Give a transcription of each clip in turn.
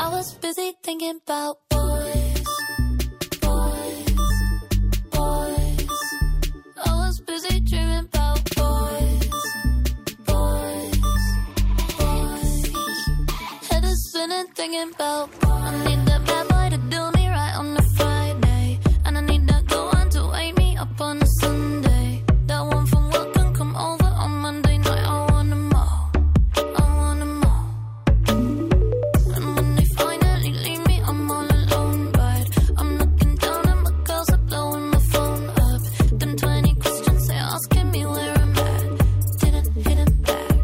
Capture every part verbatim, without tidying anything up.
was busy thinking about boys, boys, boys. I was busy dreaming about boys, boys, boys. Head is spinning thinking about boys. I need that bad boy to do me right on a Friday, and I need that good one to wake me up on a Sunday. That one from work can come over on Monday night. I want them all, I want them all. And when they finally leave me, I'm all alone, right? I'm looking down and my girls are blowing my phone up. Them twenty questions they asking me where I'm at. Didn't hit it back.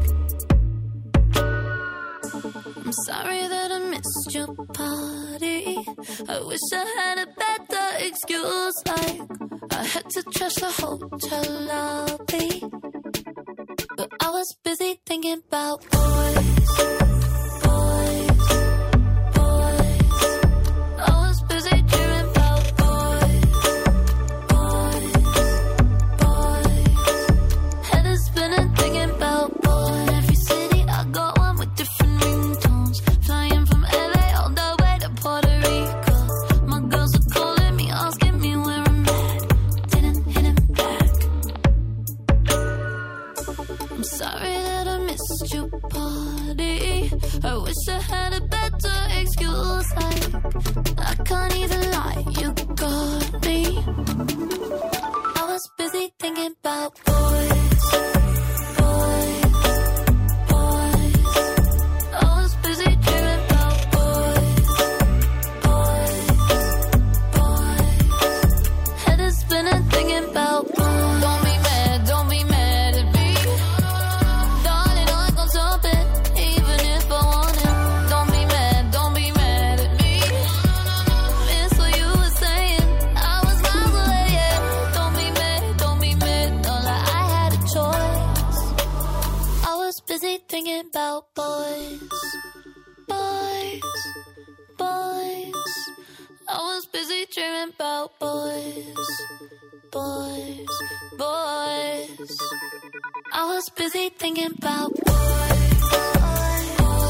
I'm sorry that I missed your party. I wish I had a better excuse, like I had to trash the hotel lobby. But I was busy thinking about boys, boys, boys. I was busy dreaming about boys, boys, boys. Head is spinning thinking about boys. In every city I go on with different ringtones. Flying from L A all the way to Puerto Rico. My girls are calling me, asking me where I'm at. Didn't hit it back. I'm sorry that I missed your party. I wish I had a better excuse, like I can't even lie, you got me. I was busy thinking about boys, boys, boys. I was busy dreaming about boys, boys, boys. Head is spinning thinking about boys. Don't be mad, don't be mad at me, darling. I gon' stop it, even if I want it. Don't be mad, don't be mad at me. Miss what you were saying, I was miles away, yeah. Don't be mad, don't be mad, not like I had a choice. I was busy thinking about boys, boys, boys. I was busy dreaming about boys, boys, boys. I was busy thinking about boys, boys,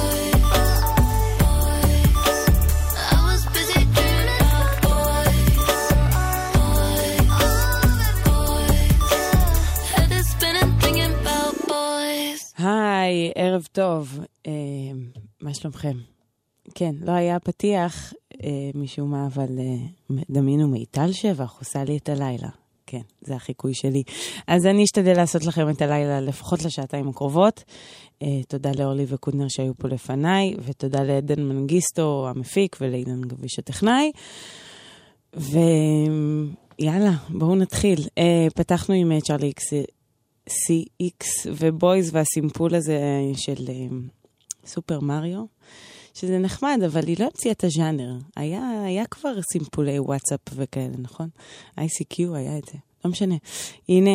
boys. I was busy dreaming about boys, boys, boys. Head is spinning thinking about boys. היי, ערב טוב. אה, מה שלומכם? כן, לא היה פתיח אה, משום מה, אבל אה, דמיינו מיטל שבח עושה לי את הלילה. כן, זה החיקוי שלי. אז אני אשתדל לעשות לכם את הלילה לפחות לשעתיים הקרובות. אה, תודה לאורלי וקודנר שהיו פה לפניי, ותודה לעדן מנגיסטו המפיק ולעידן גביש הטכנאי. ויאללה, בואו נתחיל. אה, פתחנו עם אה, צ'ארלי אקס סי אקס ובויז והסימפול הזה של אה, סופר מריו. שזה נחמד, אבל היא לא המציאה את הז'אנר. היה, היה כבר סימפולי וואטסאפ וכאלה, נכון? איי סי קיו היה את זה. לא משנה. הנה,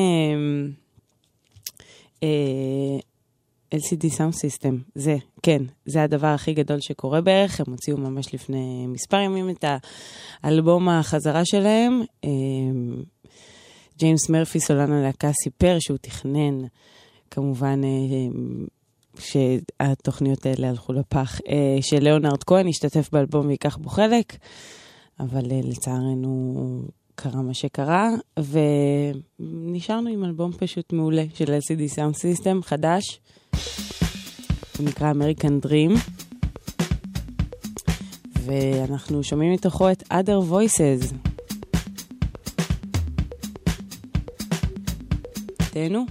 אה, אל סי די Sound System. זה, כן, זה הדבר הכי גדול שקורה בערך. הם הוציאו ממש לפני מספר ימים את האלבום החזרה שלהם. אה, ג'יימס מרפי, סולן הלהקה, סיפר שהוא תכנן, כמובן, אה, שהתוכניות האלה הלכו לפח, שלאונרד כהן השתתף באלבום ויקח בו חלק, אבל לצערנו קרה מה שקרה, ונשארנו עם אלבום פשוט מעולה של אל סי די Sound System, חדש, הוא נקרא American Dream, ואנחנו שומעים מתוכו את Other Voices. תהנו.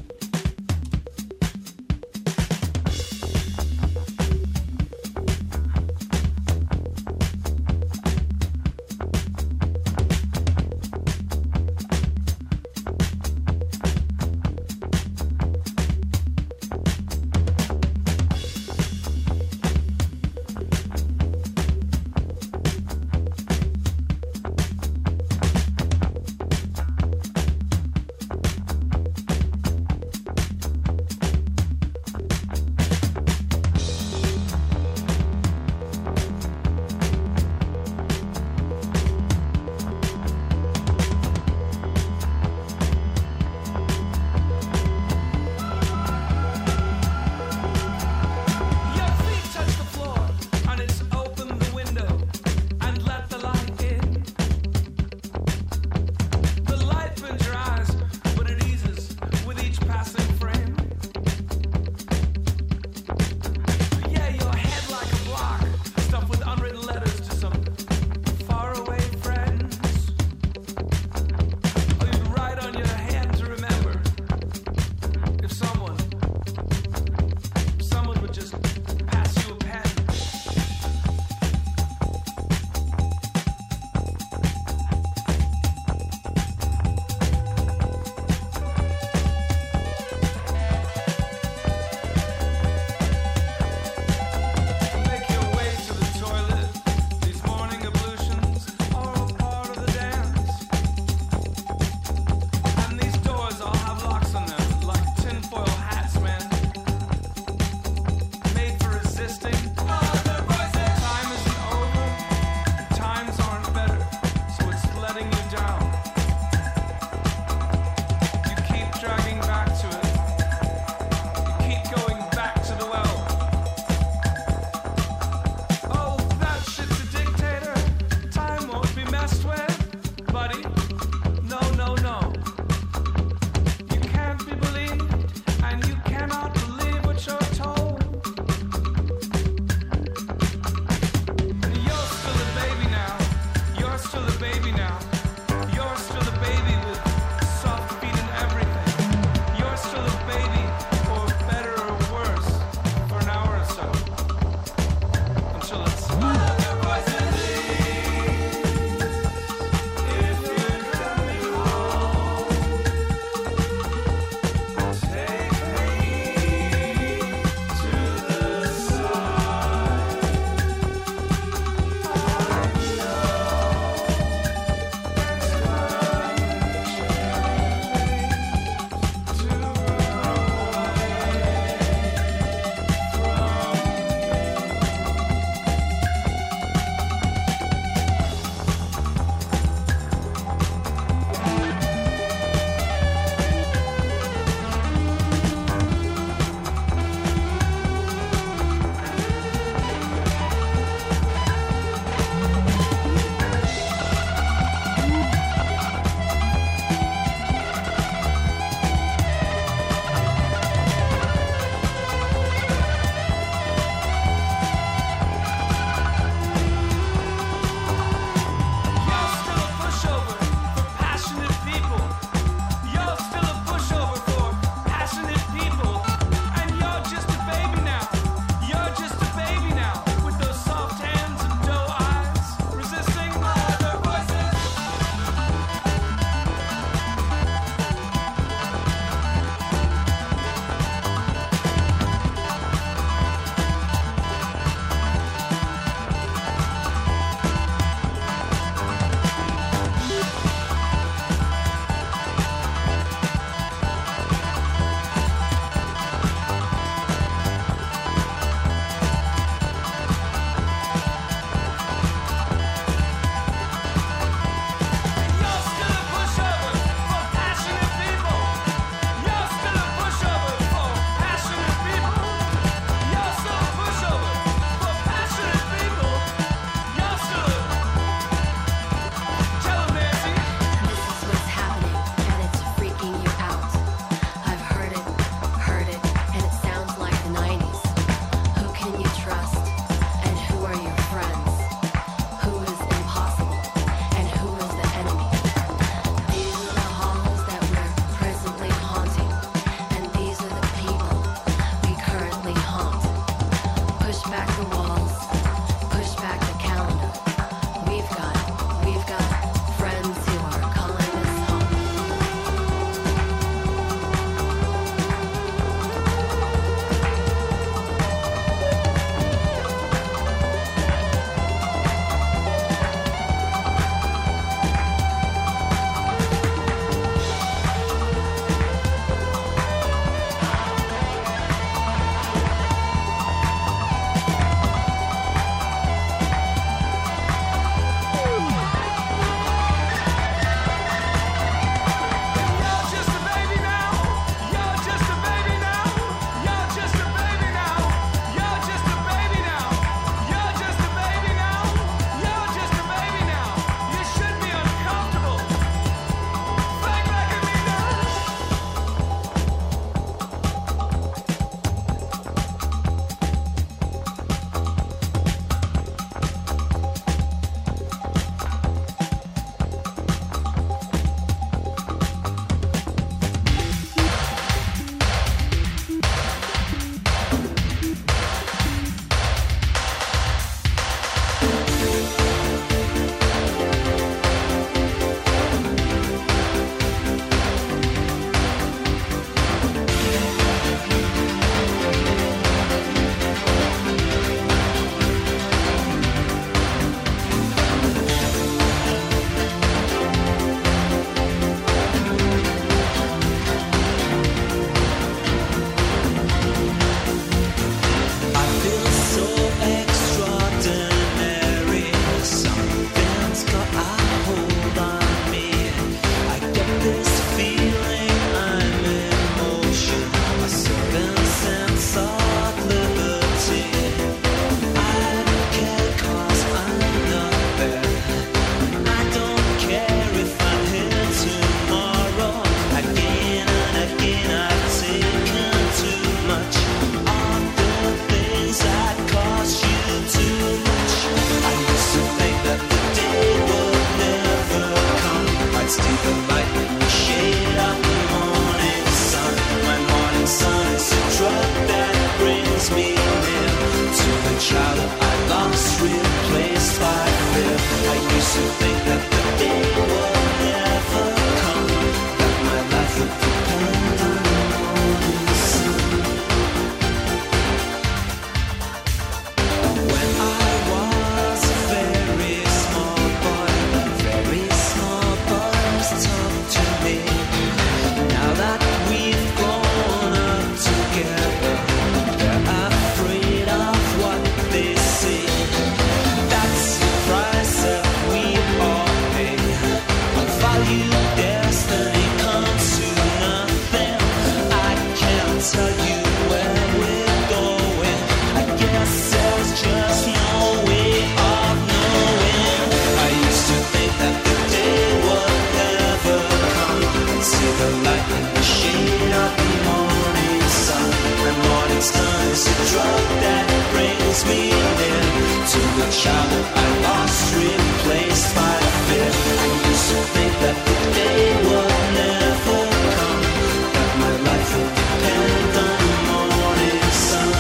to think that the day would never come, that my life would depend on the morning sun. When I was a very small boy, very small boys talk to me. Now that we've grown up together, they're afraid of what they see. That's the price that we all pay. Unvalued destiny comes to nothing. I can't tell you where we're going. I guess there's just no way of knowing. I used to think that the day would never come. I'd see the light in the shade of the morning sun. The morning sun is a drug that brings me near to the childhood I lost, replaced by fear. I used to think that the day would never come, that my life would depend on the morning sun.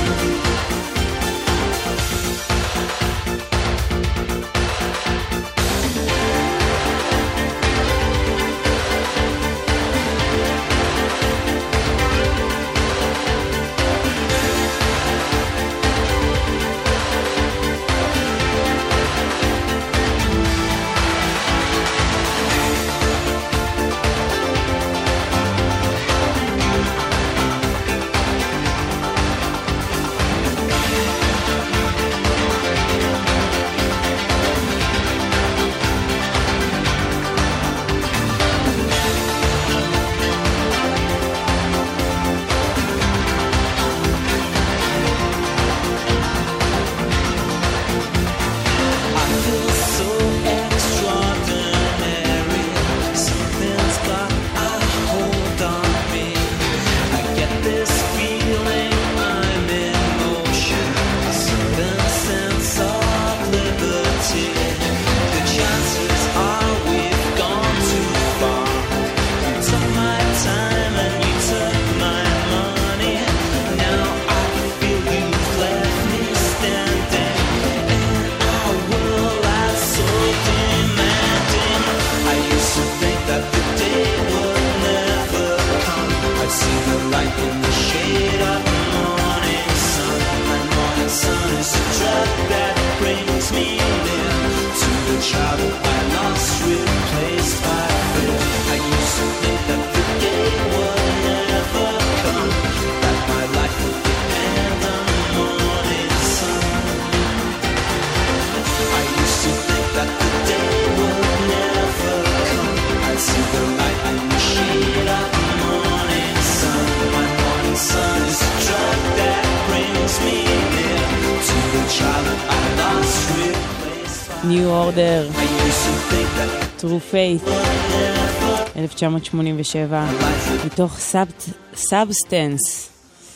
I feel so extraordinary. Something's got a hold on me. I get this feeling I'm in motion, a certain sense of liberty. The chances are we've gone too far. You took my time and you took my money. Now I feel you've left me standing in a world that's so demanding. I used to think that the day would never come. I'd see the light in the shade of the morning sun. My morning sun is a drug that brings me near to the childhood I lost, replaced by fear. I used to think that the day would never come, that my life would depend on the morning sun. I used to think that the day would never come. I'd see the light in the shade of the morning sun. My morning sun is a drug that brings me near to the childhood I lost, replaced by New Order, I used to think that True Faith, never אלף תשע מאות שמונים ושבע, מתוך סאבסטנס.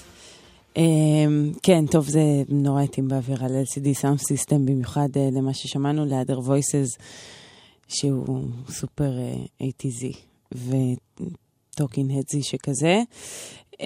כן, טוב, זה נורא התאים באוויר על אל סי די Sound System, במיוחד אה, למה ששמענו, ל-Other Voices, שהוא סופר איי טי זי וטוקינג הדזי שכזה. אה,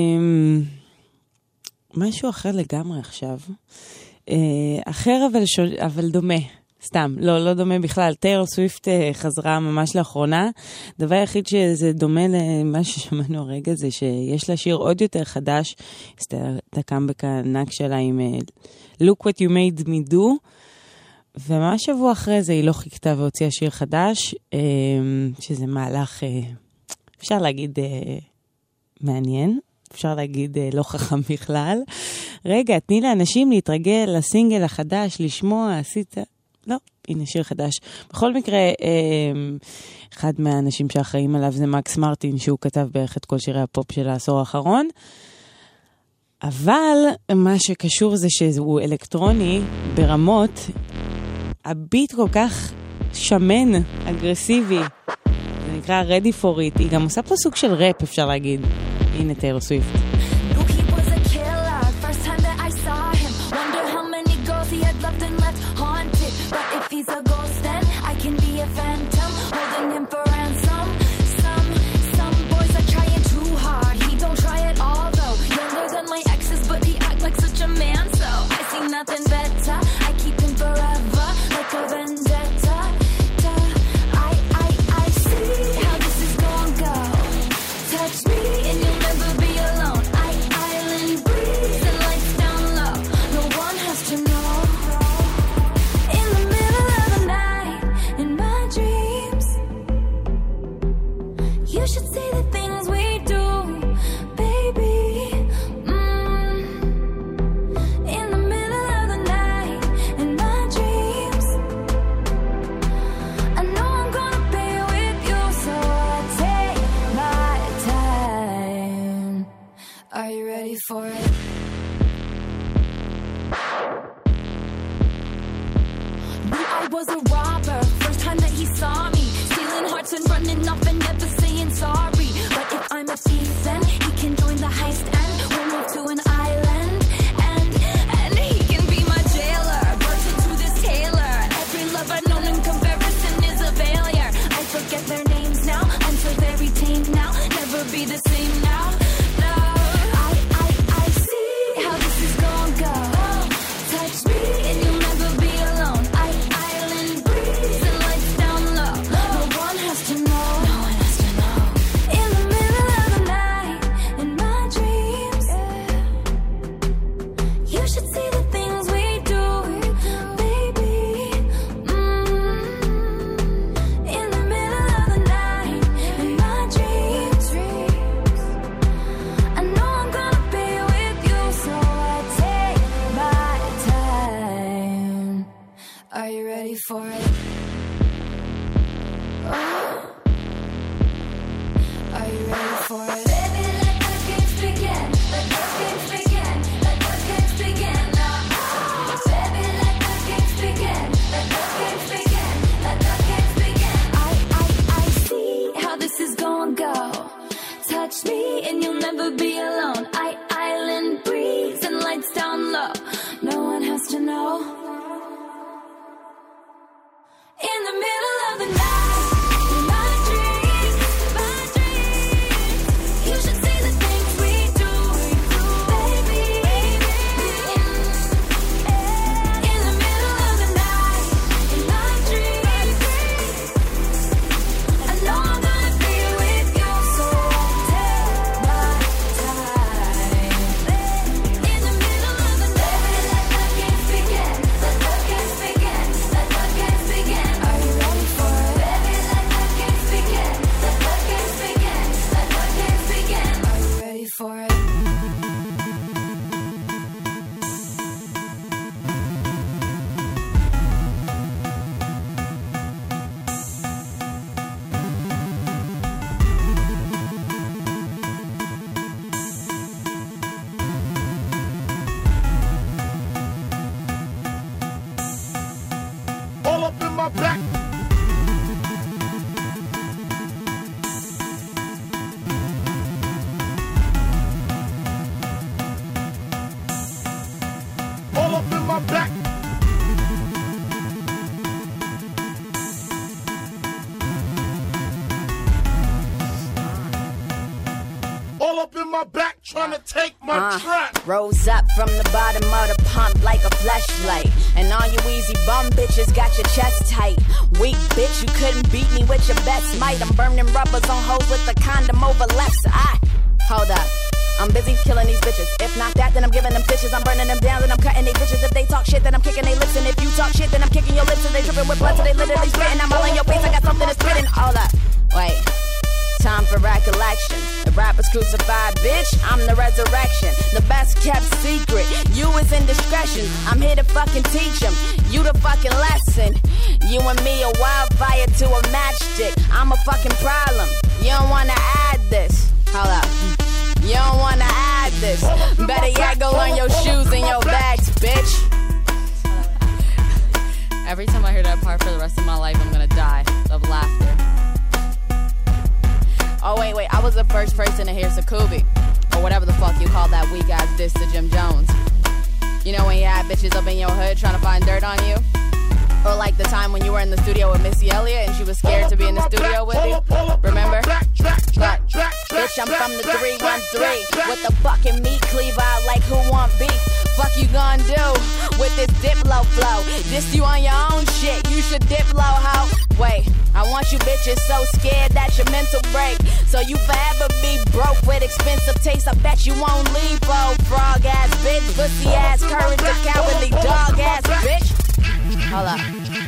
משהו אחר לגמרי עכשיו. אה, אחר אבל, שול, אבל דומה. סתם, לא, לא דומה בכלל. טיילור סוויפט חזרה ממש לאחרונה. דבר היחיד שזה דומה למה ששמענו הרגע זה שיש לה שיר עוד יותר חדש. את הקאמבק הענק שלה עם Look What You Made Me Do. וממש שבוע אחרי זה היא לא חיכתה והוציאה שיר חדש, שזה מהלך, אפשר להגיד, מעניין. אפשר להגיד לא חכם בכלל. רגע, תני לאנשים להתרגל לסינגל החדש, לשמוע, עשית... לא, הנה שיר חדש. בכל מקרה, אחד מהאנשים שאחראים עליו זה מקס מרטין, שהוא כתב בערך את כל שירי הפופ של העשור האחרון. אבל מה שקשור זה שהוא אלקטרוני ברמות, הביט כל כך שמן, אגרסיבי. זה נקרא Ready for It. היא גם עושה פה סוג של ראפ, אפשר להגיד. הנה טיילור סוויפט. He's a ghost then I can be a phantom holding him for ransom. Some some boys are trying too hard. He don't try at all though. Younger than my exes, but he act like such a man. So I see nothing better. I keep him forever like a vendetta. was a robber. First time that he saw me, stealing hearts and running off and never saying sorry. But if I'm a thief, then he can join the heist and we'll move to an island. And, and he can be my jailer, virgin to this tailor. Every love I've known in comparison is a failure. I forget their names now, I'm so very tame now. Never be the same now. No, I, I, I see how this is gonna go. Touch me and you'll never be alone. I, island breeze and lights down low. No one has to know. No one has to know. In the middle of the night, in my dreams, you should see the things we do, baby. Mm. In the middle of the night, in my dreams, I know I'm gonna be with you, so I take my time. Are you ready for it? Oh. Are you ready for it? Baby, let the games begin. Let the games begin. Let the games begin now. Baby, let the games begin. Let the games begin. Let the games begin. I, I, I see how this is gonna go. Touch me and you'll never be alone. I, island breeze and lights down low. No one has to know. In the middle of the night, in my dreams, my dreams, you should see the things we do, baby. In the middle of the night, in my dreams, I know I'm gonna be with you, so take my time. In the middle of the night, let the games begin. Let the games begin. Let the games begin. Are you ready for it? Baby, let the games begin. Let the games begin. Let the games begin. Are you ready for it? All up in my back. All up in my back. All up in my back, trying to take my Uh, track. Rose up from the bottom of the pump like a fleshlight. And all you easy bum bitches got your chest tight. Weak bitch, you couldn't beat me with your best might. I'm burning rubbers on hoes with the condom over left. I hold up. I'm busy killing these bitches. If not that, then I'm giving them stitches. I'm burning them down, then I'm cutting they bitches. If they talk shit, then I'm kicking they lips. And if you talk shit, then I'm kicking your lips. And they dripping with blood, so they literally spitting. I'm all in your face, I got something to spitting. Hold up, wait. Time for recollection. The rapper's crucified, bitch. I'm the resurrection. The best kept secret. You is indiscretion. I'm here to fucking teach them. You the fucking lesson. You and me a wildfire to a matchstick. I'm a fucking problem. You don't wanna add this. Hold up. You don't wanna add this. Better yet, go learn your shoes and your bags, bitch. Every time I hear that part for the rest of my life, I'm gonna die of laughter. Oh, wait, wait, I was the first person to hear Sukubi. Or whatever the fuck you call that weak ass diss to Jim Jones. You know when you had bitches up in your hood trying to find dirt on you? Or like the time when you were in the studio with Missy Elliott and she was scared to be in the studio with you? Remember? But, bitch, I'm from the three one three with the fucking meat cleaver out like who want beef? Fuck you gonna do with this Diplo flow? This you on your own shit, you should Diplo hoe. Wait, I want you bitches so scared that your mental break. So you forever be broke with expensive taste. I bet you won't leave, oh frog ass bitch, pussy ass, courage, a cowardly dog ass bitch. Hold up.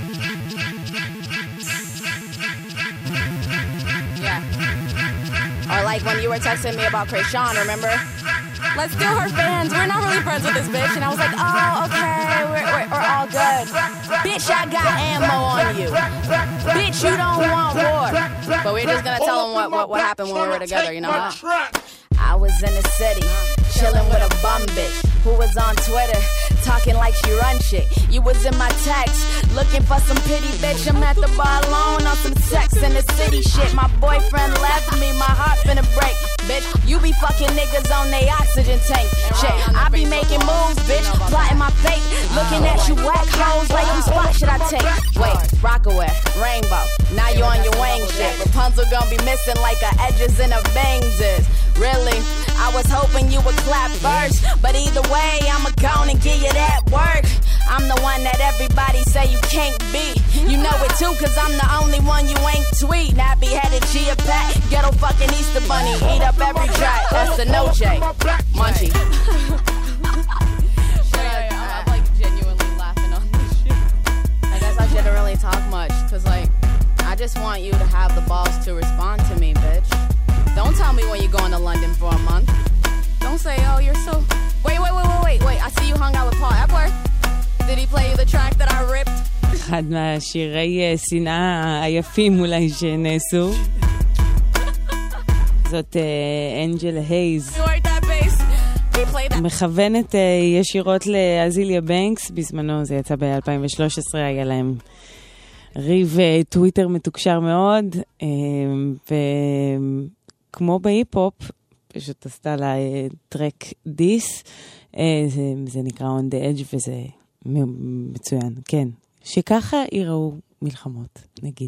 Yeah. Or like when you were texting me about Krayshawn, remember? Let's do her fans. We're not really friends with this bitch. And I was like, oh, okay, we're, we're, we're all good. Bitch, I got ammo on you. Bitch, you don't want war. But we're just gonna tell them what, what, what happened when we were together, you know? Huh? I was in the city, chilling with a bum bitch who was on Twitter talking like she run shit. You was in my text, looking for some pity, bitch. I'm at the bar alone on some sex in the city shit. My boyfriend left me, my heart finna break. Bitch, you be fucking niggas on they oxygen tank. Shit, I be making moves, bitch, plotting my fate. Looking at you whack hoes, like whose spot should I take? Wait, Rockaway, Rainbow, now you on your wing shit. Rapunzel gon' be missing like her edges and her bangs is. Really, I was hoping you would clap first, but either way, I'ma go and give you that work. I'm the one that everybody say you can't beat. You know it too, cause I'm the only one you ain't tweet. Nappy-headed Gia Pat, ghetto fucking Easter Bunny, eat up every track. That's the no J, Munchie. I'm like genuinely laughing on this shit. I guess I shouldn't really talk much, cause like, I just want you to have the balls to respond to me, bitch. Don't tell me when you're going to London for a month. Don't say, oh, you're so... Wait, wait, wait, wait, wait, wait. I see you hung out with Paul Epworth. Did he play you the track that I ripped? אחד מהשירי שנאה היפים אולי שנעשו. זאת אנג'ל הייז. מכוונת ישירות לאזיליה בנקס. בזמנו זה יצא ב-אלפיים ושלוש עשרה, היה להם ריב טוויטר מתוקשר מאוד. ו... כמו בהיפ-הופ, פשוט עשתה לה טרק דיס, זה, זה נקרא On The Edge וזה מצוין, כן. שככה יראו מלחמות, נגיד.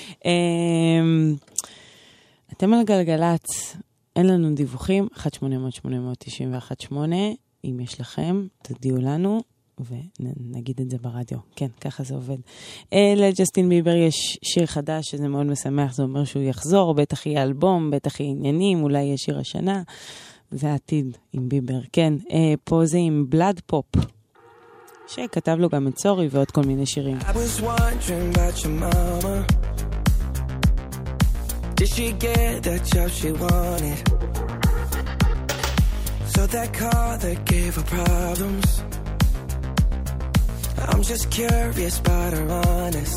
אתם על גלגלץ, אין לנו דיווחים, אחת שמונה אפס אפס שמונה תשע אחת שמונה, אם יש לכם, תודיעו לנו, ונגיד את זה ברדיו. כן, ככה זה עובד. לג'סטין ביבר יש שיר חדש, שזה מאוד משמח, זה אומר שהוא יחזור, בטח יהיה אלבום, בטח יהיה עניינים, אולי יהיה שיר השנה. זה העתיד עם ביבר. כן, פה זה עם בלאד פופ, שכתב לו גם את סורי ועוד כל מיני שירים. I was wondering about your mama. Did she get that job she wanted? So that car that gave her problems. I'm just curious about her honest.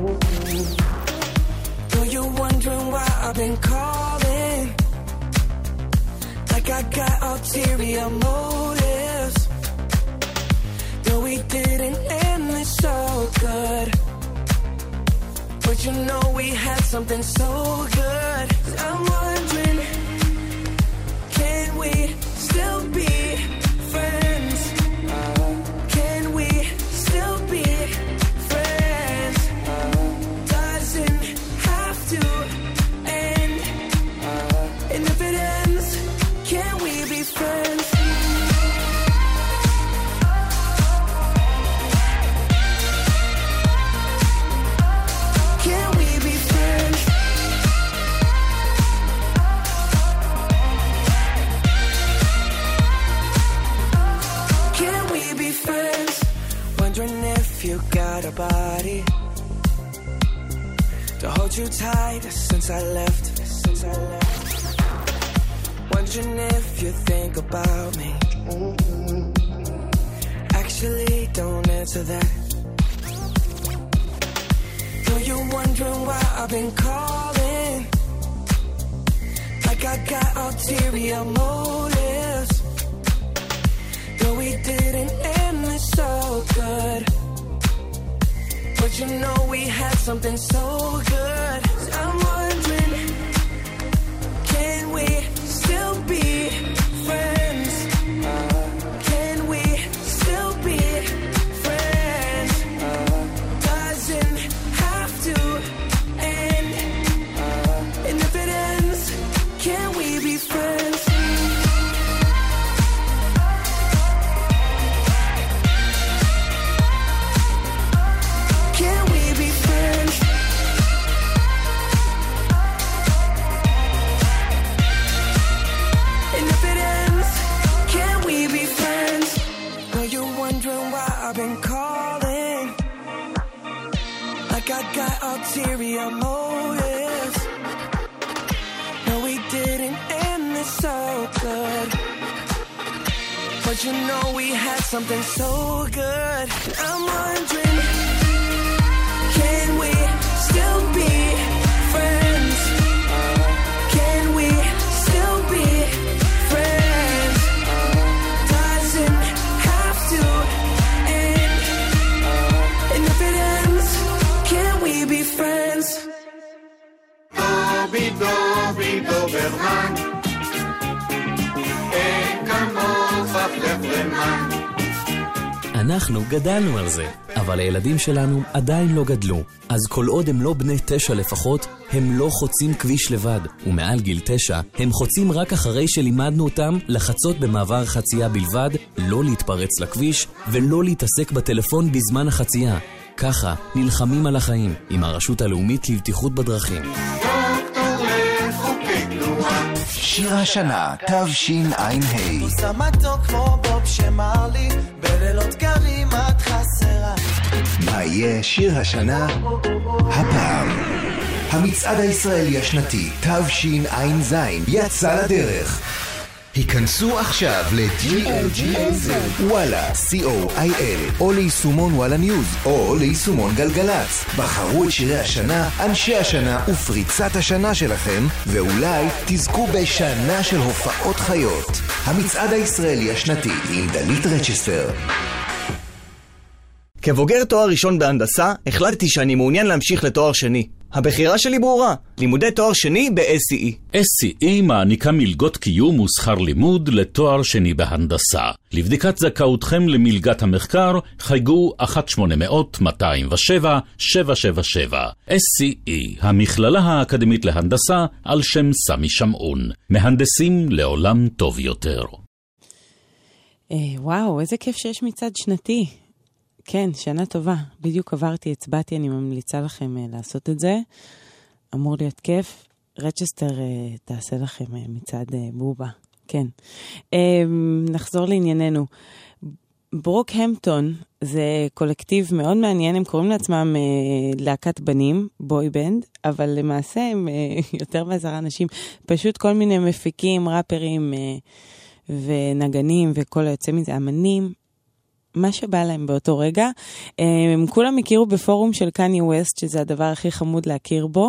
Though you're wondering why I've been calling, like I got ulterior motives. Though we didn't end this so good, but you know we had something so good. I'm wondering, can we still be friends? Can we still be friends? Doesn't have to end. And if it ends, can we be friends? Can we be friends? Can we be friends? Wondering if you got a body to hold you tight since I left. Since I left. Wondering if you think about me. Actually, don't answer that. Though you're wondering why I've been calling, like I got ulterior motives. Though we didn't end this so good, but you know we had something so good. I'm wondering, can we still be friends? Can we still be friends? Doesn't have to end. And if it ends, can we be friends? Can we be friends? And if it ends, can we be friends? Are you wondering why I've been calling? Like I got ulterior motives. No, we didn't end this so good, but you know we had something so good. I'm wondering, can we still be friends? Can we still be friends? Doesn't have to be friends? דובי דובי דוברמן, אין כמוך פלפלמן. אנחנו גדלנו על זה, אבל הילדים שלנו עדיין לא גדלו. אז כל עוד הם לא בני תשע לפחות, הם לא חוצים כביש לבד. ומעל גיל תשע, הם חוצים רק אחרי שלימדנו אותם לחצות במעבר חצייה בלבד, לא להתפרץ לכביש ולא להתעסק בטלפון בזמן החצייה. ככה נלחמים על החיים עם הרשות הלאומית לבטיחות בדרכים. דוקטור לחוקי תנועה. שיר השנה, תשע"ה. עושה מתוק כמו בוב שמר לי, בלילות קרים את חסרה. מה יהיה שיר השנה? הפעם. המצעד הישראלי השנתי, תשע"ז, יצא לדרך. היכנסו עכשיו ל-ג'י אל ג'י אל זד, וואלה, סי או איי אל, או ליישומון וואלה ניוז, או ליישומון גלגלץ. בחרו את שירי השנה, אנשי השנה ופריצת השנה שלכם, ואולי תזכו בשנה של הופעות חיות. המצעד הישראלי השנתי עם דלית רצ'סטר. כבוגר תואר ראשון בהנדסה, החלטתי שאני מעוניין להמשיך לתואר שני. הבחירה שלי ברורה, לימודי תואר שני ב-אס סי אי. אס סי אי מעניקה מלגות קיום ושכר לימוד לתואר שני בהנדסה. לבדיקת זכאותכם למלגת המחקר, חייגו אחת שמונה אפס אפס מאתיים ושבע שבע שבע שבע. אס סי אי, המכללה האקדמית להנדסה, על שם סמי שמעון. מהנדסים לעולם טוב יותר. וואו, איזה כיף שיש מצד שנתי. כן, שנה טובה. בדיוק עברתי, הצבעתי, אני ממליצה לכם uh, לעשות את זה. אמור להיות כיף. רצ'סטר uh, תעשה לכם uh, מצד uh, בובה. כן. Uh, נחזור לענייננו. ברוקהמפטון זה קולקטיב מאוד מעניין, הם קוראים לעצמם uh, להקת בנים, בוי בנד, אבל למעשה הם uh, יותר מעשרה אנשים, פשוט כל מיני מפיקים, ראפרים uh, ונגנים וכל היוצא מזה, אמנים, מה שבא להם באותו רגע. הם כולם הכירו בפורום של קניה ווסט, שזה הדבר הכי חמוד להכיר בו.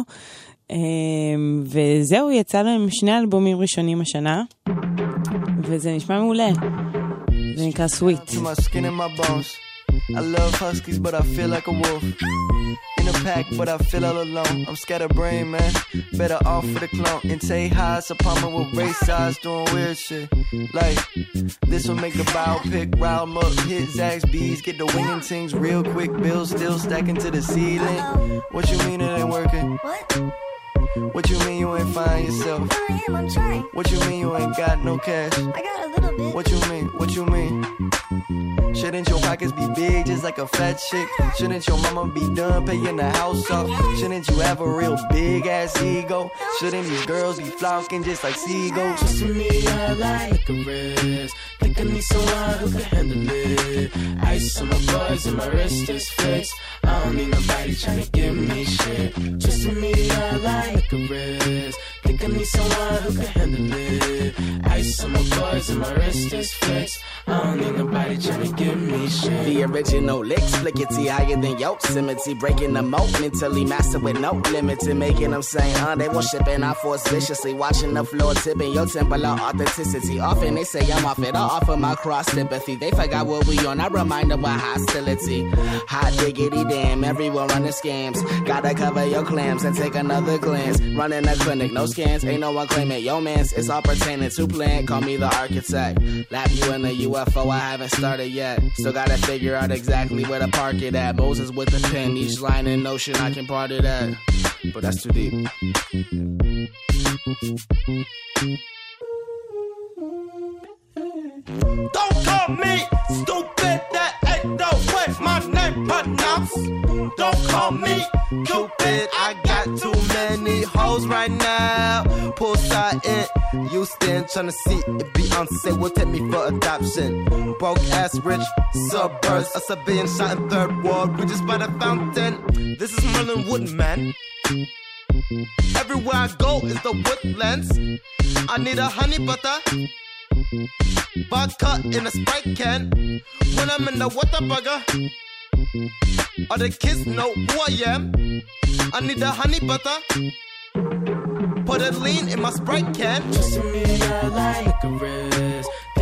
וזהו, יצא להם שני אלבומים ראשונים השנה, וזה נשמע מעולה. זה נקרא Sweet. I love huskies, but I feel like a wolf. In a pack, but I feel all alone. I'm scatterbrained, man. Better off with a clone. And Tay Highs, a palmer with race eyes, doing weird shit. Like, this will make the biopic. Rile 'em up, hit Zaxby's B's, get the winging things real quick. Bills still stacking to the ceiling. What you mean it ain't working? What? What you mean you ain't find yourself? I am, I'm trying. What you mean you ain't got no cash? I got a little bit. What you mean? What you mean? Shouldn't your pockets be big just like a fat chick? Shouldn't your mama be done paying the house off? Shouldn't you have a real big ass ego? Shouldn't these girls be flocking just like seagulls? Just to me, I like a wrist. Think I need someone who can handle it. Ice on my bars and my wrist is fixed. I don't need nobody trying to give me shit. Just to me, I like a wrist. Think I need someone who can handle it. Ice on my bars and my wrist is fixed. I don't need nobody trying to give me shit. The original licks, flickety higher than Yosemite. Breaking them out mentally, master with no limits. And making them say, uh, they won't ship and I force viciously. Watching the floor tipping your temple of authenticity. Often they say I'm off it, I offer my cross sympathy. They forgot what we on, I remind them what hostility. Hot diggity damn, everyone running scams. Gotta cover your clams and take another glance. Running a clinic, no scans, ain't no one claiming yo mans. It's all pertaining to plan, call me the architect. Lap you in the U F O, I haven't started yet. Still gotta figure out exactly where to park it at. Moses with the pen, each line in notion I can part it at. But that's too deep. Don't call me stupid, that ain't the way my name pronounced. Don't call me Cupid, I got too many hoes right now. Poolside in Houston, tryna see if Beyonce will take me for adoption. Broke ass rich suburbs, a civilian shot in third ward, we just by the fountain. This is Merlin Woodman. Everywhere I go is the woodlands. I need a honey butter, vodka in a Sprite can. When I'm in the Whataburger, all the kids know who I am. I need the honey butter, put a lean in my Sprite can. Just to me, I like a wrist.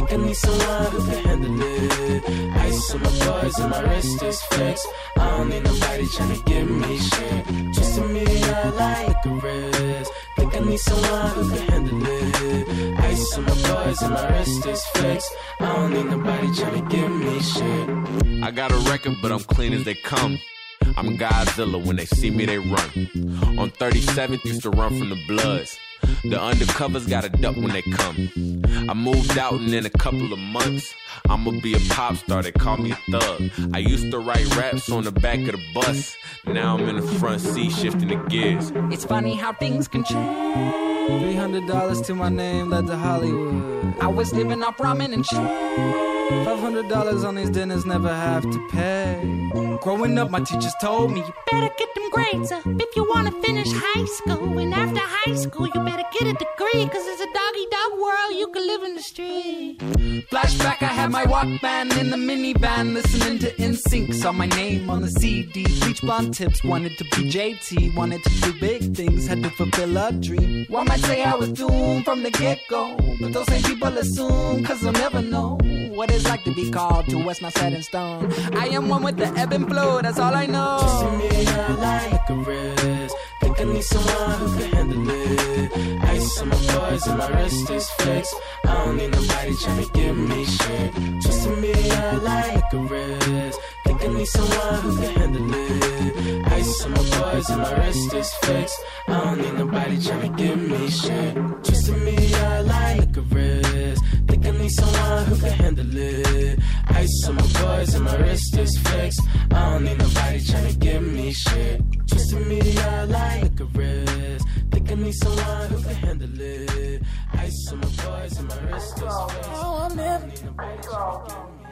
Think I need someone who can handle it. Ice on my bars and my wrist is fixed. I don't need nobody tryna give me shit. Just a million like a wrist. Think I need someone who can handle it. Ice on my bars and my wrist is fixed. I don't need nobody tryna give me shit. I got a record, but I'm clean as they come. I'm Godzilla, when they see me they run. On thirty-seventh, used to run from the Bloods. The undercovers gotta duck when they come. I moved out and in a couple of months I'ma be a pop star, they call me a thug. I used to write raps on the back of the bus. Now I'm in the front seat shifting the gears. It's funny how things can change. Three hundred dollars to my name led to Hollywood. I was living off ramen and shit. Five hundred dollars on these dinners, never have to pay. Growing up, my teachers told me, you better get them grades up if you want to finish high school. And after high school, you better get a degree, cause it's a doggy-dog world, you can live in the street. Flashback, I had my Walkman in the minivan, listening to N Sync. Saw my name on the C D. Bleach blonde tips, wanted to be J T. Wanted to do big things, had to fulfill a dream. One might say I was doomed from the get-go, but those same people assume, cause they'll never know what it's like to be called to what's not set in stone. I am one with the ebb and flow, that's all I know. Just a million like a wrist. Think I need someone who can handle it. Ice on my bars and my wrist is fixed. I don't need nobody tryna give me shit. Just a million like a wrist. Think I need someone who can handle it. Ice on my bars and my wrist is fixed. I don't need nobody tryna give me shit. Just a million like a wrist. Think I need someone who can handle it. Ice on my bars and my wrist is fixed. I don't need nobody tryna give me shit. Just a million like a wrist. Think I need someone who can handle it. Ice on my bars and my wrist is fixed. I don't need nobody tryna give me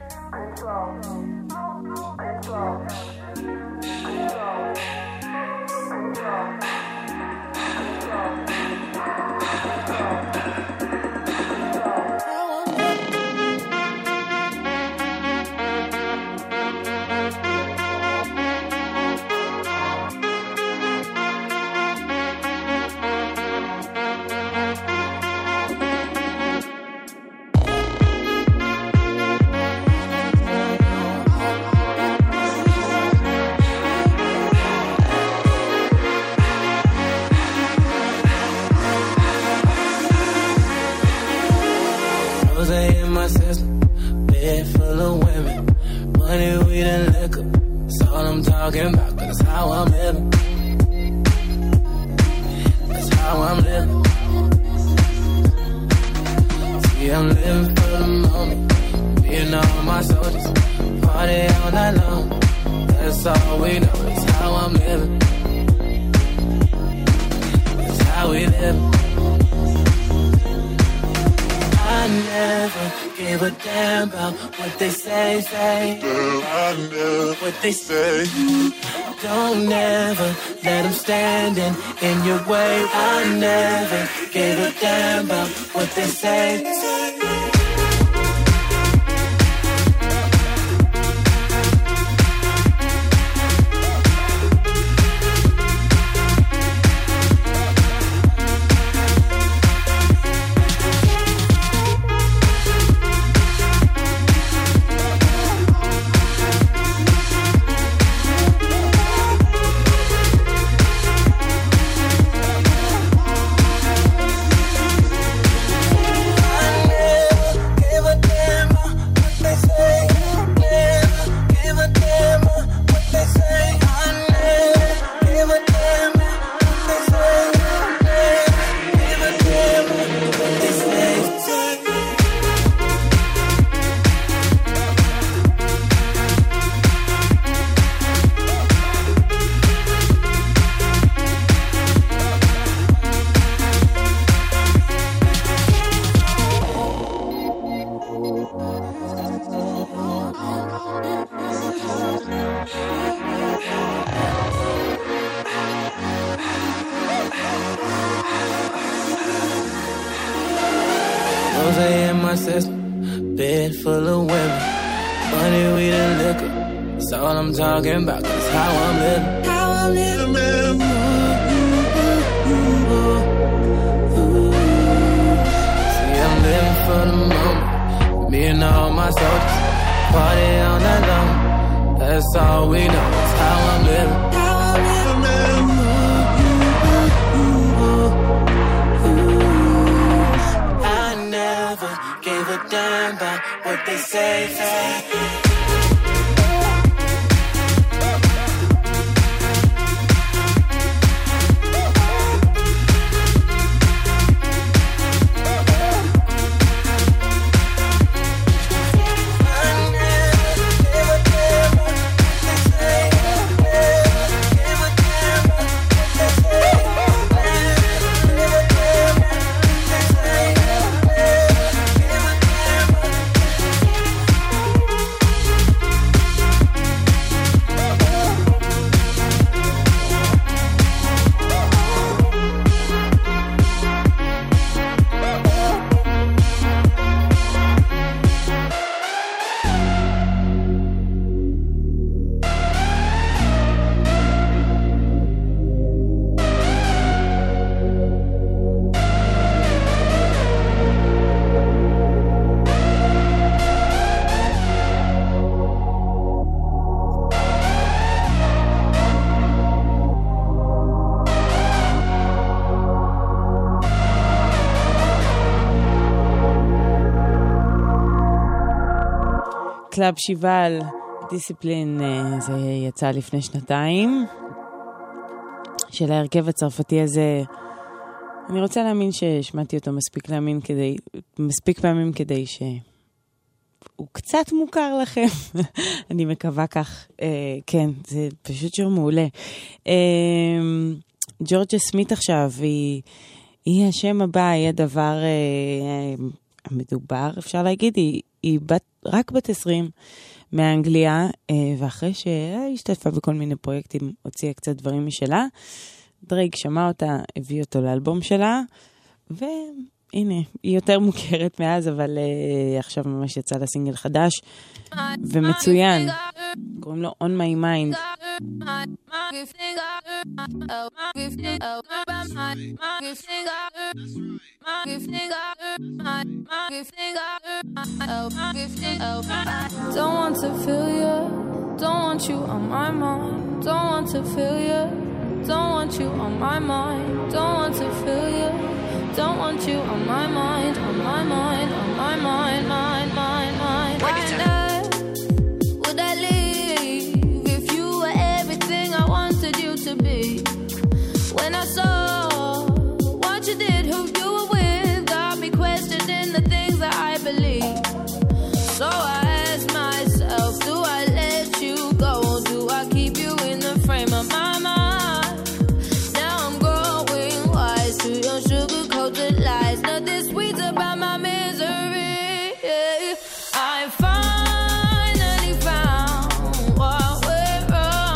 my system, bed full of women, money, weed, and liquor. That's all I'm talking about, cause that's how I'm living. That's how I'm living. See, I'm living for the moment, being all my soldiers, party all night long. That's all we know, that's how I'm living. That's how we live. I never give a damn about what they say, say. I never what they say. Don't never let them standing in your way. I never give a damn about what they say. Bed full of women, money, weed, and liquor. That's all I'm talking about, cause how I'm living. How I'm living, man. See, I'm living for the moment, and all my soldiers. Party on that low. That's all we know. It's how I'm living. How I'm living. I never gave a damn about what they say. קלאב שיבל, דיסציפלין, זה יצא לפני שנתיים, של ההרכב הצרפתי הזה. אני רוצה להאמין ששמעתי אותו מספיק להאמין כדי, מספיק פעמים כדי שהוא קצת מוכר לכם. אני מקווה כך. אה, כן, זה פשוט שיר מעולה. אה, ג'ורג'ה סמית עכשיו, היא, היא השם הבא, היא הדבר אה, המדובר, אפשר להגיד, היא, היא בת, רק בת עשרים מאנגליה, ואחרי שהשתתפה בכל מיני פרויקטים, הוציאה קצת דברים משלה. דרייק שמע אותה, הביא אותו לאלבום שלה, והנה, היא יותר מוכרת מאז, אבל uh, עכשיו ממש יצא לה סינגל חדש, ומצוין. קוראים לו On My Mind. Don't want to feel you, don't want you on my mind. Don't want to feel you, don't want you on my mind. Don't want to feel you, don't want you on my mind, on my mind, on my mind, mind, mind, mind. Why not would I leave if you were everything I wanted you to be? When I saw what you did, who you were with, got me questioning the things that I believe. So I asked myself, do I let you go or do I keep you in the frame of my mind? Now I'm growing wise to your sugar-coated lies. Nothing sweet about my misery. I finally found what went wrong.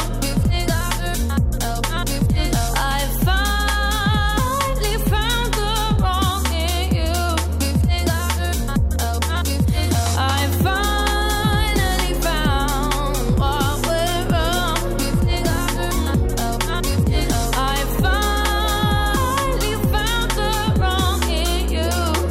I finally found the wrong in you. I finally found what went wrong. I finally found the wrong in you.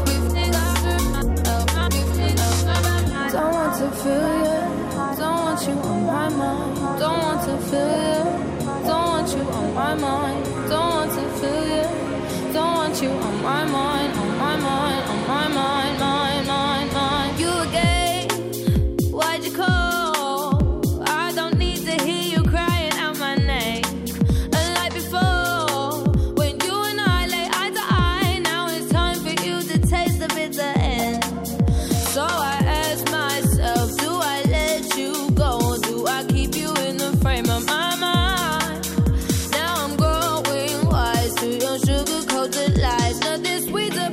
Don't want to feel you, don't want you on my mind. Don't want to feel you, don't want you on my mind. Don't want to feel you, don't want you on my mind, on my mind, on my mind, mind, mind, mind. You again, why'd you call? I don't need to hear you crying out my name. Unlike before, when you and I lay eye to eye, now it's time for you to taste the bitter end. So I ask myself, do I let you go or do I keep you in the frame of my mind? Now I'm growing wise to your sugar-coated lies. Nothing sweet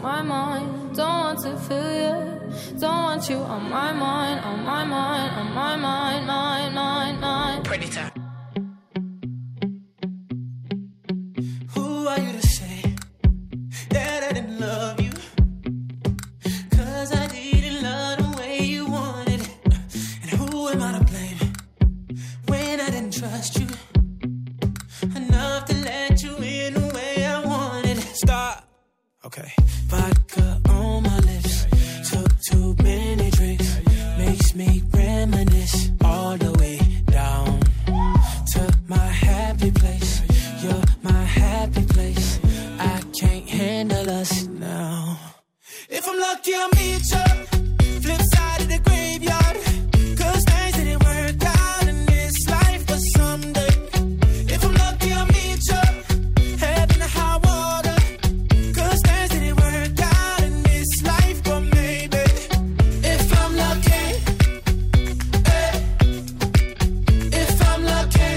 my mind. Don't want to feel you. Don't want you on my mind, on my mind, on my mind, mind, mind, mind. Pretty time. Who are you to say that I didn't love you? Cause I didn't love the way you wanted it. And who am I to blame when I didn't trust you enough to let you in the way I wanted? Stop. Okay. Vodka on my lips. Took too many drinks. Makes me reminisce all the way down to my happy place. You're my happy place. I can't handle us now. If I'm lucky, I'll meet you. Flip side of the graveyard. Cause things didn't work out in this life, but someday. If I'm lucky, I'll meet you. Heaven or high water. Cause things didn't work out in this life, but maybe. If I'm lucky. Eh. If I'm lucky.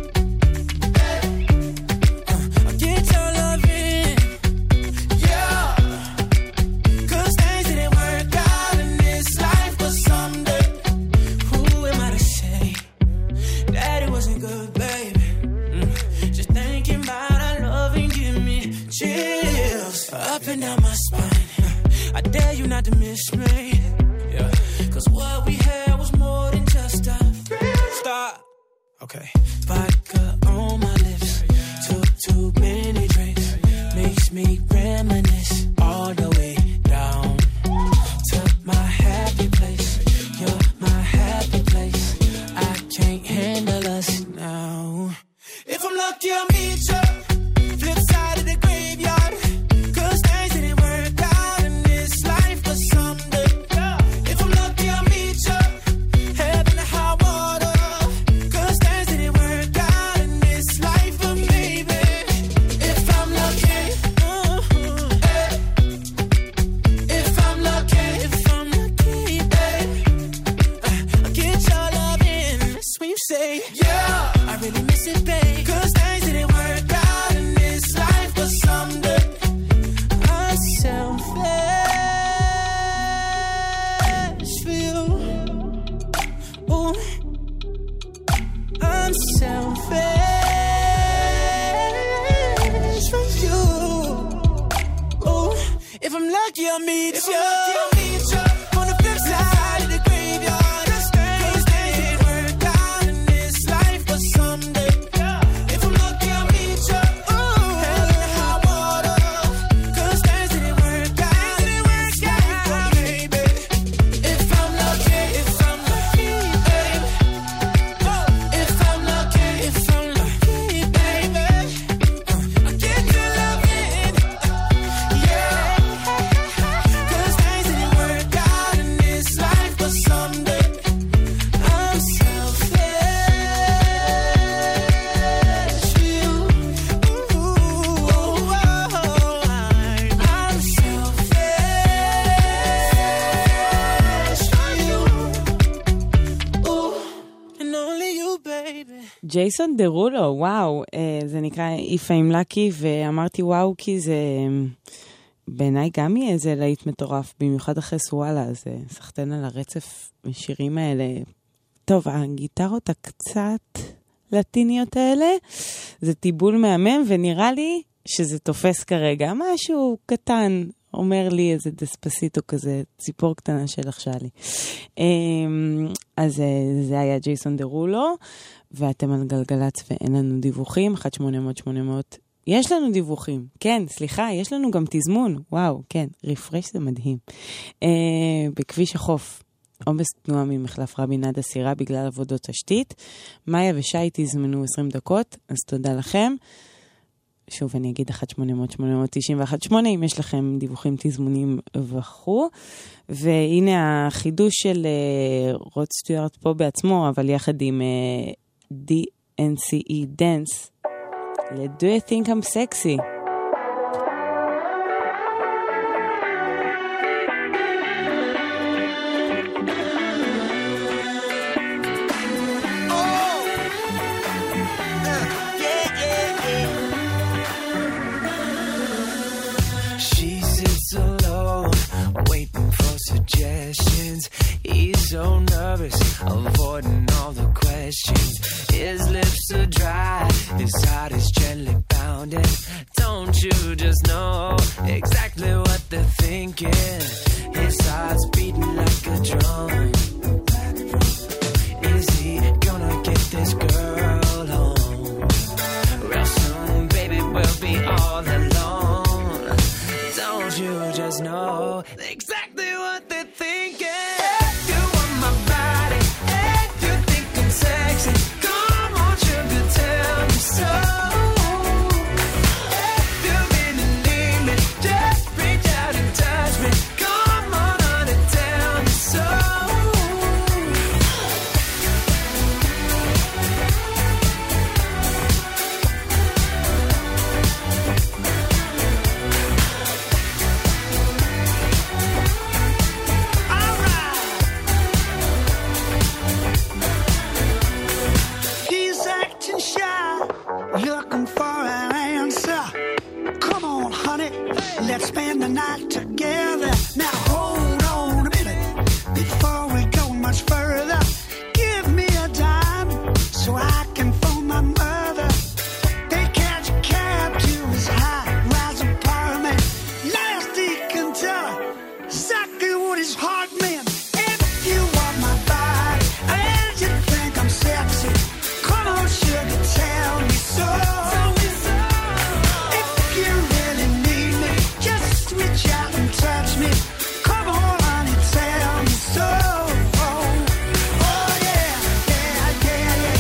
Eh. Uh, I'll get your love in. Yeah. Cause things didn't work out in this life, but someday. Who am I to say that it wasn't good, baby? Mm. Just thinking about our love and give me chills up and down my spine. I dare you not to miss me. Yeah. Cause what we had was more than just a stop. Okay. Vodka on my lips. Took too many drinks. Makes me reminisce all the way down to my happy place. You're my happy place. I can't handle us now. If I'm lucky, I'll meet you. Flip side of the graveyard. Cause things didn't work out in this life, but someday. If I'm lucky, I'll meet you. Heaven or high water. Cause things didn't work out in this life, but maybe. If I'm lucky. Uh-huh, eh. If I'm lucky. If I'm lucky, eh. Uh, I'll get your love in. That's when you say, yeah, I really miss it, babe. Cause things didn't work out in this life, but someday. I'm selfish for you. Ooh. I'm selfish for you. Ooh. If I'm lucky, I'll meet you. On the flip side of the graveyard. Cause things didn't work out in this life, but someday. If I'm lucky, I'll meet you. Heaven or high water. Cause things didn't work out in this life, but maybe. If I'm lucky, if I'm lucky, babe. If I'm lucky, if I'm lucky, baby. I'll get your love in. Yeah. Cause things didn't work out in this life, but someday. I'm selfish for you. Ooh, oh, I'm selfish for you. Ooh, and only you, baby. ג'ייסון דרולו, וואו, אה, זה נקרא If I'm Lucky, ואמרתי וואו כי זה בעיניי גם יהיה איזה להיט מטורף, במיוחד אחרי סואלה, אז אה, סחטן על הרצף השירים האלה. טוב, הגיטרות הקצת לטיניות האלה, זה טיבול מהמם, ונראה לי שזה תופס כרגע. משהו קטן, אומר לי איזה דספסיטו כזה, ציפור קטנה של שלי. אז אה, זה היה ג'ייסון דרולו, ואתם על גלגלץ ואין לנו דיווחים, אחת שמונה אפס אפס שמונה אפס. יש לנו דיווחים, כן, סליחה, יש לנו גם תזמון, וואו, כן, רפרש זה מדהים. אה, בכביש החוף, עומס תנועה ממחלף רבין עד הסירה בגלל עבודות תשתית. מאיה ושי תזמנו עשרים דקות, אז תודה לכם. שוב, אני אגיד אחת שמונה אפס אפס שמונה אפס תשע אחת שמונה, אם יש לכם דיווחים, תזמונים וכו'. והנה החידוש של uh, רוד סטיוארט פה בעצמו, אבל יחד עם uh, די אן סי אי Dance. ל-Do You Think I'm Sexy? She sits alone suggestions. He's so nervous, avoiding all the questions. His lips are dry, his heart is gently pounding. Don't you just know exactly what they're thinking? His heart's beating like a drum. Is he gonna get this girl home? Real soon, baby, we'll be all alone. Don't you just know exactly what they're thinking? If you want my body, if you think I'm sexy, come on, sugar, tell me so. If you really need me, just reach out and touch me. Come on, honey, tell me so. He's acting shy, looking for an answer. Come on, honey, let's spend the night together. Now hold on a minute before we go much further. Give me a dime so I can phone my mother. They catch a cab to his high-rise apartment. Last he can tell her exactly what his heart meant. If you want my body and you think I'm sexy, come on, sugar, tell me so. If you really need me, just reach out and touch me. Come on, honey, tell me so. Oh, oh yeah, yeah, yeah, yeah.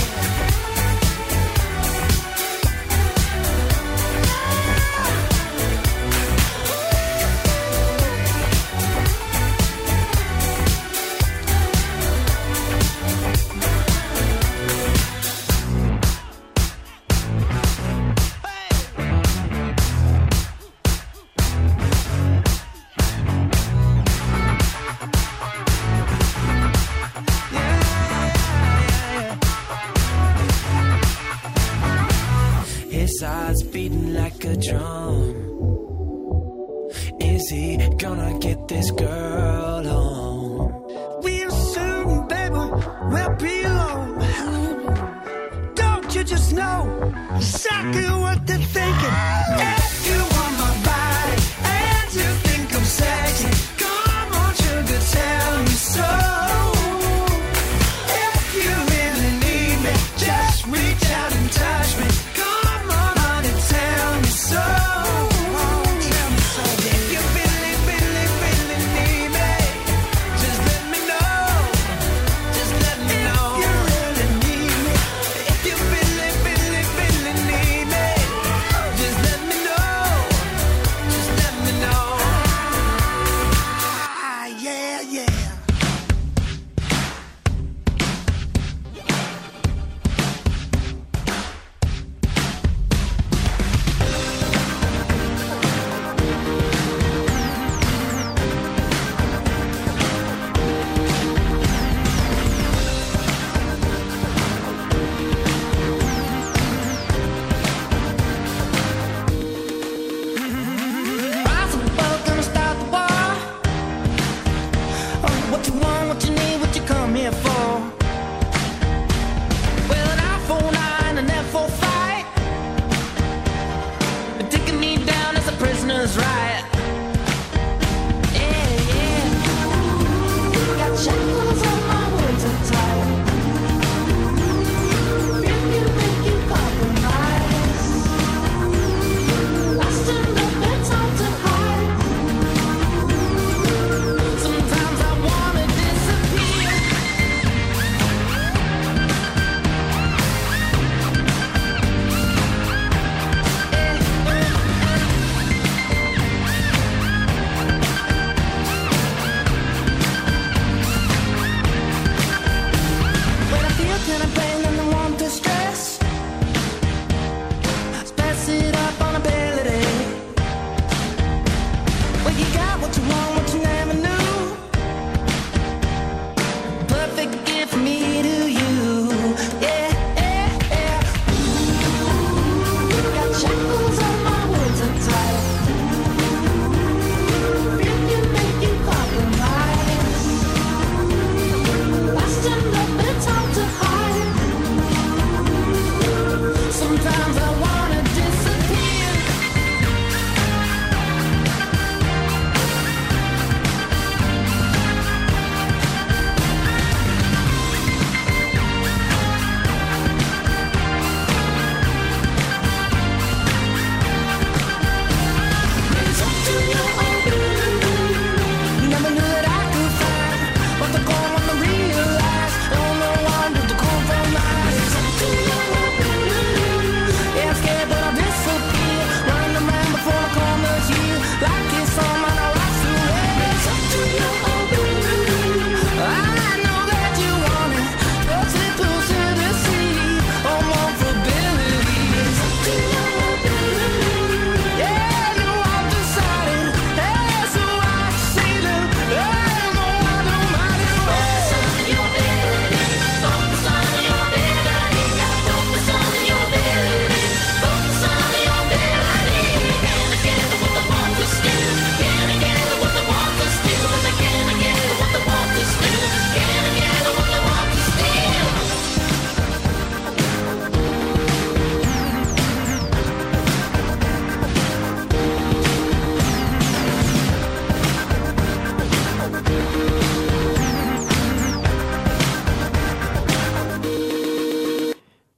His heart's beating like a drum. Is he gonna get this girl home? We'll soon, baby, we'll be alone. Don't you just know exactly what they're thinking? If you want my body and you think I'm sexy, come on, sugar, tell me so. If you really need me, just reach out and touch me. Come on, honey, tell me so. Tell me so. If you really, really, really need me, just let me know. Just let me know. If you really need me, if you really, really, really need me, just let me know.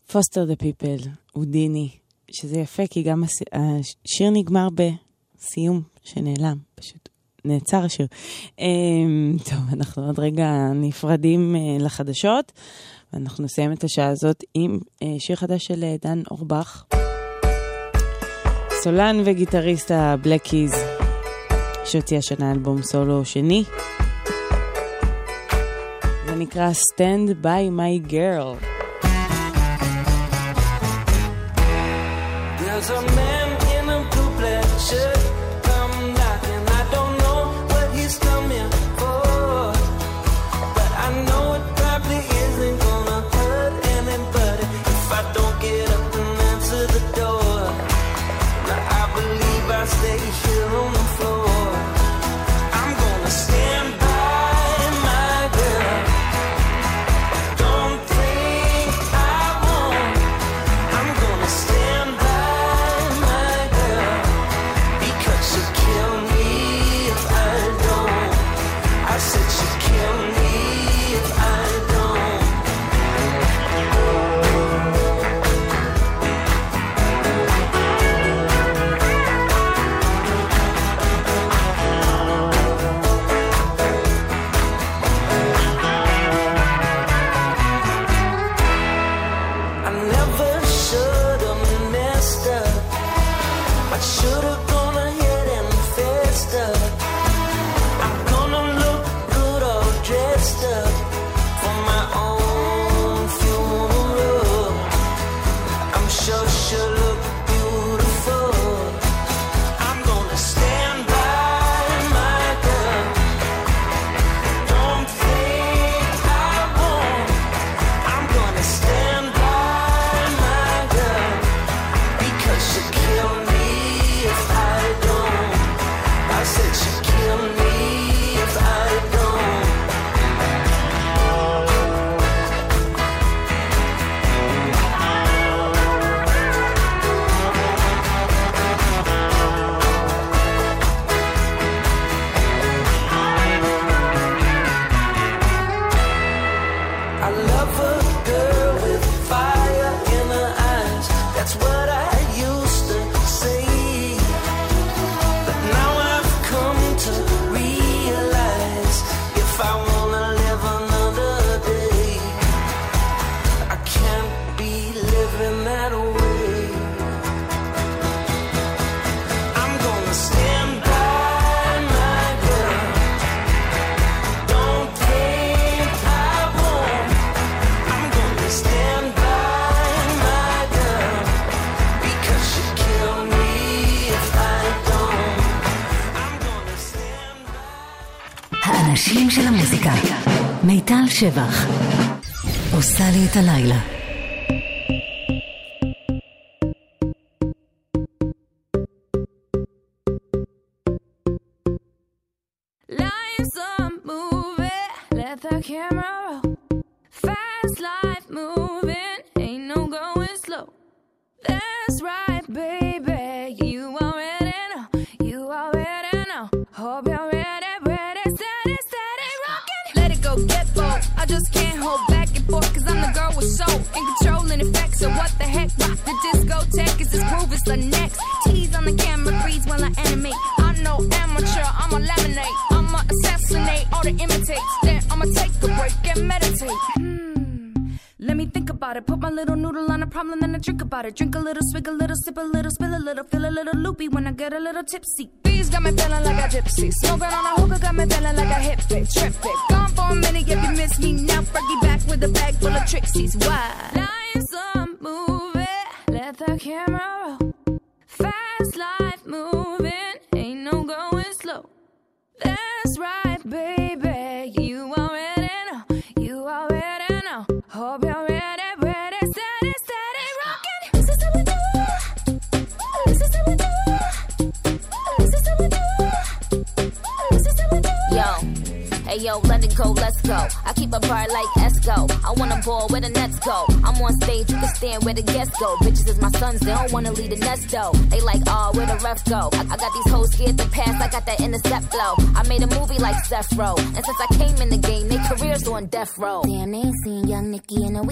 פוסטר דה פיפל, הודיני, שזה יפה, כי גם הס... השיר נגמר בסיום שנעלם, פשוט נעצר השיר. טוב, אנחנו עוד רגע נפרדים לחדשות, ואנחנו נסיים את השעה הזאת עם שיר חדש של דן אורבך, סולן וגיטריסט הבלקיז, שהוציא השנה אלבום סולו שני. זה נקרא Stand by my girl. There's a man in a blue black shirt come knocking. I don't know what he's coming for, but I know it probably isn't gonna hurt anybody if I don't get up and answer the door. Now I believe I stay here on the floor. I'm gonna stand by my girl. Don't think I won't. I'm gonna stand by my girl, because she'll kill me if I don't. I said she'll kill me if I don't. I never should have messed up. I should have gone ahead and fessed up. I'm gonna look good all dressed up for my own funeral. I'm sure she'll look beautiful. I'm gonna stand by my girl. Don't think I won't. I'm gonna stand by my girl, because she'll kill me if I don't. I said she'll kill me if I don't. I love a girl with fire in her eyes. That's what I used to say. But now I've come to realize, if I wanna live another day, I can't be living that way. I'm gonna stand by my girl. Don't think I won't. I'm gonna stand by my girl, because she'll kill me if I don't. I'm gonna stand by. האנשים של המוזיקה. מיטל שבח. עושה לי את הלילה. Life's a movie, let the camera roll. Fast life moving, ain't no going slow. That's right, baby, you already know, you already know. Hope you're ready, ready, steady, steady, rockin'. Let it go, get bold, I just can't hold back and forth, cause I'm the girl with soul and control and effect. So what the heck, rock the discotheque, is this groove is the next. Tease on the camera, freeze while I animate. I'm no amateur, I'ma laminate, I'ma assassinate all the imitates. Then I'ma take a break and meditate. Hmm, let me think about it. Put my little noodle on a problem, then I drink about it. Drink a little, swig a little, sip a little, spill a little, feel a little loopy when I get a little tipsy. These got me feeling like a gypsy. Smoking on a hookah got me feeling like a hip fit, trip it. Gone for a minute if you miss me now. Fergie back with a bag full of tricksies. Why? Life's a movie, let the camera roll. Fast life moving, ain't no going slow. That's right, baby, you already know, you already know. Hope you're ready, ready, steady, steady, rockin'. This is how we do. This is how we do. This is how we do. This is how we do. Yo, hey yo, let it go, let's go. I keep a bar like Esco. I wanna ball where the nets go. I'm on stage, you can stand where the guests go. Bitches is my sons, they don't wanna leave the nest though. They like, oh, where the ref go? I, I got these hoes scared to pass, I got that intercept flow. I made a movie like Seth Row, and since I came in the game, they careers on death row. Damn, they ain't seen young Nicki in a week.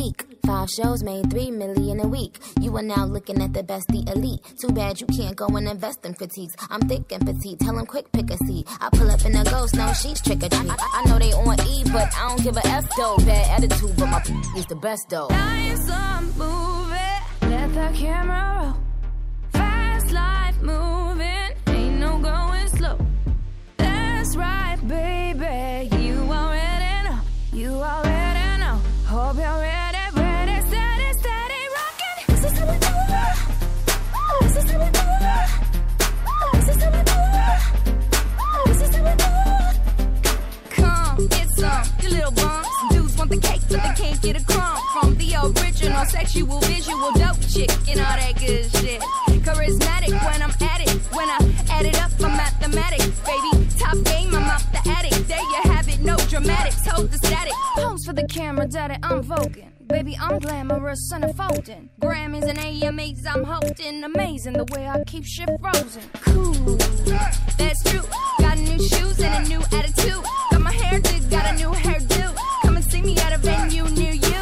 Five shows made three million a week. You are now looking at the best, the elite. Too bad you can't go and invest in critiques. I'm thick and petite, tell them quick pick a seat. I pull up in a ghost, no she's trick or treat. I, I know they on E, but I don't give a F though. Bad attitude, but my is the best though. Life's a movie, let the camera roll. Fast life moving, ain't no going slow. That's right, baby, you already know. You already know. Hope you're ready, ready, steady, steady, rockin'. This is how we do it. This is how we do it. This is how we do it. This is how we do it. Come, get some, you little bums. Dudes want the cake, but they can't get a crumb from the original sexual, visual, dope chick and all that good shit. Charismatic when I'm at it. When I add it up, I'm mathematics, baby. Top game, I'm out the attic. There you have it, no dramatics, hold the static. Pose for the camera, daddy, I'm voguing. Baby, I'm glamorous and folding. Grammys and A M As, I'm holding. Amazing the way I keep shit frozen. Cool, that's true. Got new shoes and a new attitude. Got my hair did, got a new hairdo. Come and see me at a venue near you.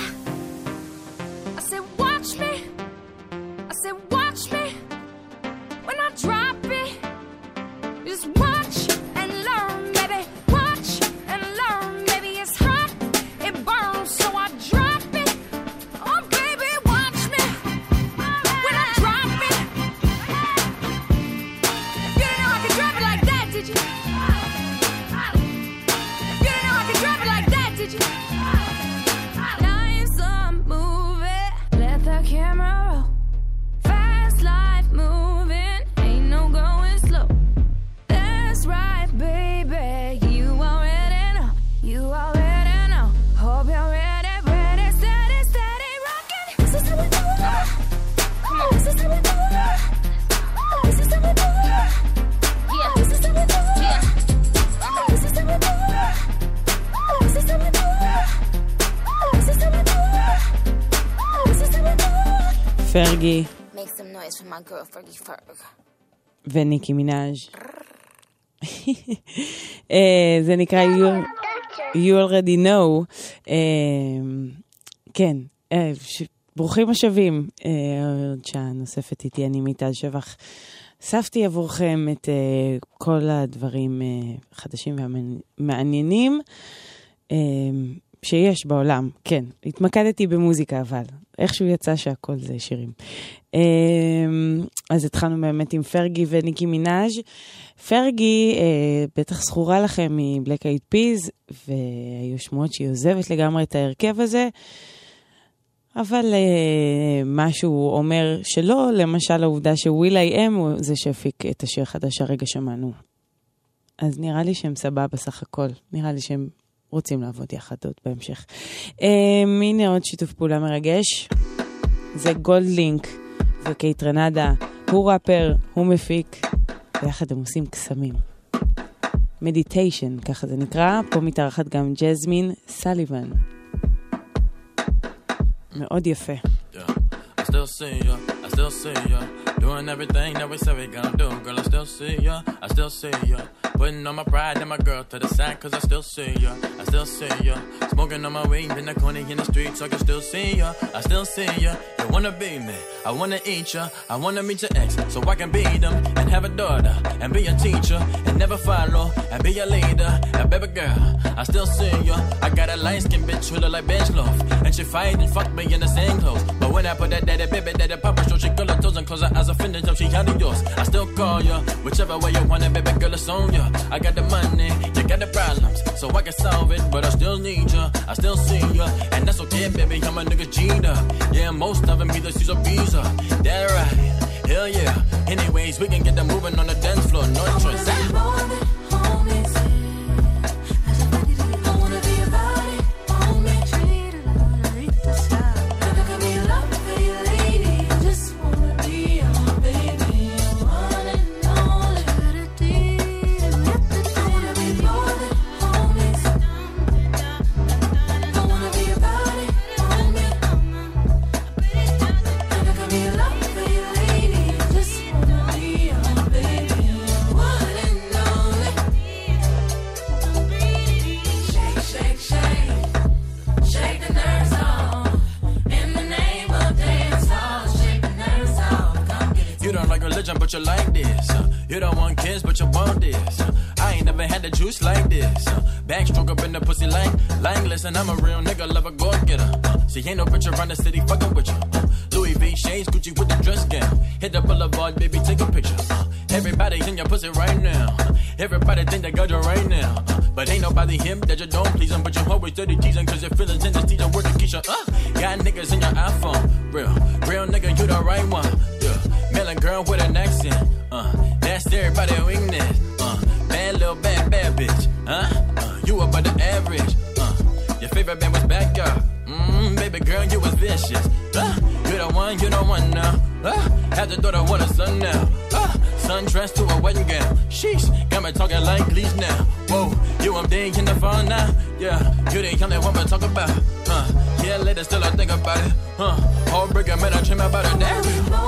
I said, watch me. I said, watch me. When I drop it, just watch and learn, baby. Watch and learn, baby. It's hot, it burns, so I drop it. Oh, baby, watch me. When I drop it, you didn't know I could drop it like that, did you? You didn't know I could drop it like that, did you? Life's a movie, let the camera roll. Fast life moving, ain't no going slow. That's right, baby, you already know. You already know. Hope you're ready, ready, steady, steady, rockin'. This is how we do it. This is how we do it. This is how we do it. Yeah, this is how we do it. Yeah, this is how we do it. This is how we do it. This is how we do it. This is how we do it. פרגי Make some noise for my girl Fergie Ferg. וניקי מינאז'. אה, זה נקרא You, you Already Know. אה, כן, אה, ש... ברוכים השבים. אה, עוד שעה נוספת איתי, אני מיטל שבח. אספתי עבורכם את אה, כל הדברים אה, חדשים והמעניינים אה, שיש בעולם. כן, התמקדתי במוזיקה, אבל איכשהו יצא שהכל זה שירים. אז התחלנו באמת עם פרגי וניקי מינאז'. פרגי בטח זכורה לכם מבלק אייד פיז, והיו שמועות שהיא עוזבת לגמרי את ההרכב הזה, אבל משהו אומר שלא, למשל העובדה שוויל איי אם הוא זה שהפיק את השיר החדש הרגע שמענו. אז נראה לי שהם סבבה בסך הכל, נראה לי שהם רוצים לעבוד יחד עוד בהמשך. הנה עוד שיתוף פעולה מרגש, זה גולד לינק וקייט רנדה, הוא ראפר, הוא מפיק, ויחד הם עושים קסמים. מדיטיישן, ככה זה נקרא, פה מתארחת גם ג'זמין סליבן. מאוד יפה. I still see ya, I still see ya, doing everything that we said we gonna do. Girl, I still see ya, I still see ya, putting on my pride and my girl to the side, cause I still see ya, I still see ya, smoking on my weed in the corner in the street, so I can still see ya, I still see ya. You wanna be me, I wanna eat ya, I wanna meet your ex, so I can beat them, and have a daughter, and be a teacher, and never follow, and be a leader, and baby girl, I still see ya. I got a light-skinned bitch who look like bench loaf, and she fight and fuck me in the same clothes, but when I put that daddy baby daddy papa show, she girl her toes and close her eyes offended till she out of yours. I still call ya, whichever way you want it, baby girl, it's on ya. I got the money, you got the problems, so I can solve it, but I still need ya, I still see ya, and that's okay, baby, I'm a nigga G'd up. Yeah, most of them either sees a visa, that right, hell yeah. Anyways, we can get them moving on the dance floor, no choice. but you like this. Uh, you don't want kids, but you want this. Uh, I ain't never had the juice like this. Uh, backstroke up in the pussy like, like, listen, I'm a real nigga, love a go-getter. Uh, see, ain't no bitch around the city fucking with you. Uh, Louis V shades, Gucci with the dress gown. Hit the boulevard, baby, take a picture. Uh, everybody in your pussy right now. Uh, everybody think they got you right now. Uh, but ain't nobody him that you don't please them. But you always dirty teasing, cause your feelings in the teacher word to Keisha. Uh, got niggas in your iPhone. Real, real nigga, you the right one. Yeah, melon girl with an accent. Uh, that's everybody weakness. Uh, bad little bad, bad bitch. Huh? Uh, you above the average. Uh, your favorite band was Backyard. Mmm, baby girl, you was vicious. Uh, you the one, you the one now. Uh, have the daughter want a son now. Uh, son dressed to a wedding gown. Sheesh, got me talking like Glees now. Whoa, you I'm digging in the phone now. Yeah, you the only one we talk about. Uh, yeah, later still I think about it. Uh, heartbreaker, man, I dream about it now.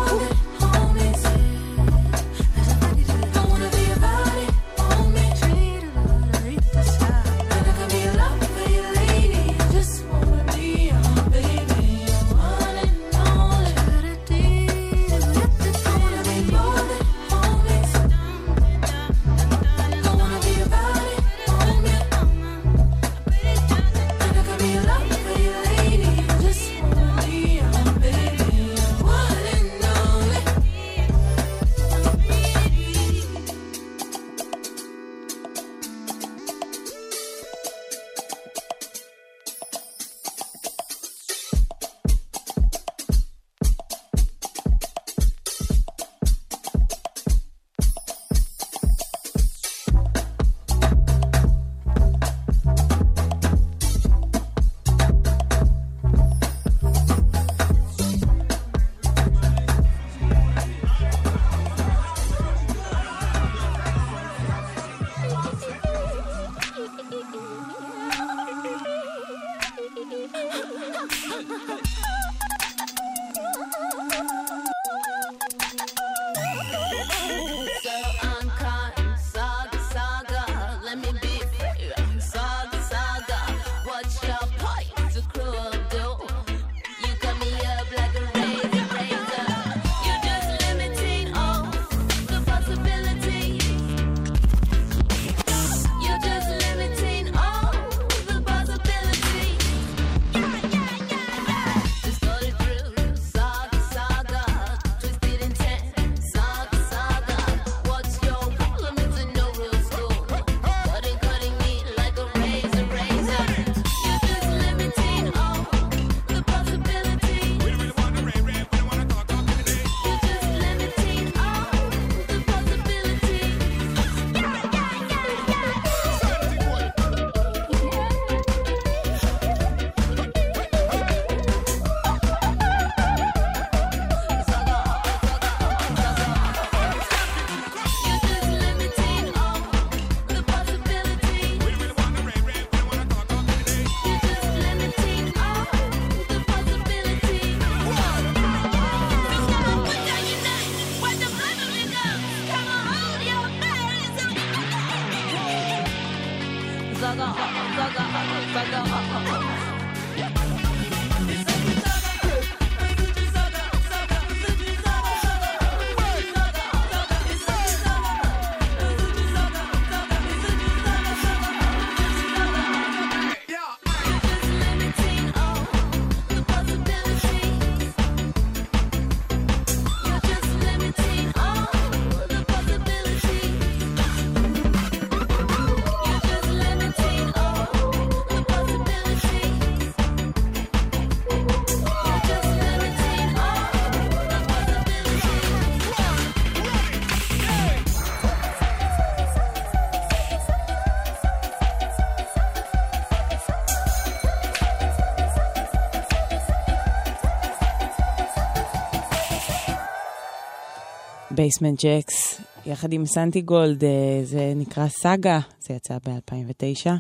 בייסמנט ג'קס, יחד עם סנטי גולד, זה נקרא סאגה, זה יצא ב-אלפיים ותשע.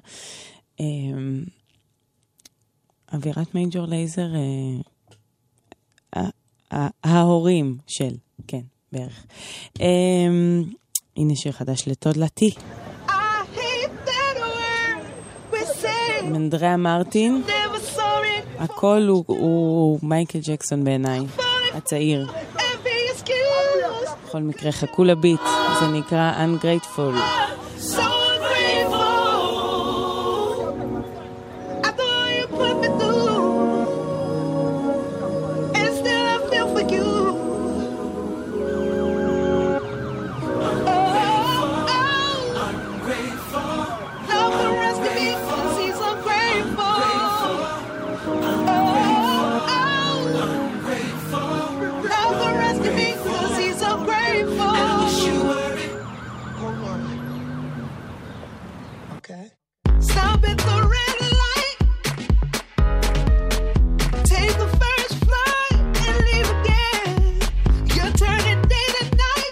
אווירת מייג'ור לייזר, ההורים של, כן, בערך. הנה שיר חדש לטודלתי. מנדריה מרטין, הכל הוא מייקל ג'קסון בעיניי, הצעיר. Envy excuse. בכל מקרה, חכו לביט, זה נקרא Ungrateful. So grateful. I thought you put me through, and still I feel for you. Oh, oh, ungrateful. Love the rest of me, 'cause he's ungrateful. Oh, oh, ungrateful. Love the rest of me, 'cause he's ungrateful. Stop at the red light. Take the first flight and leave again. You're turning day to night.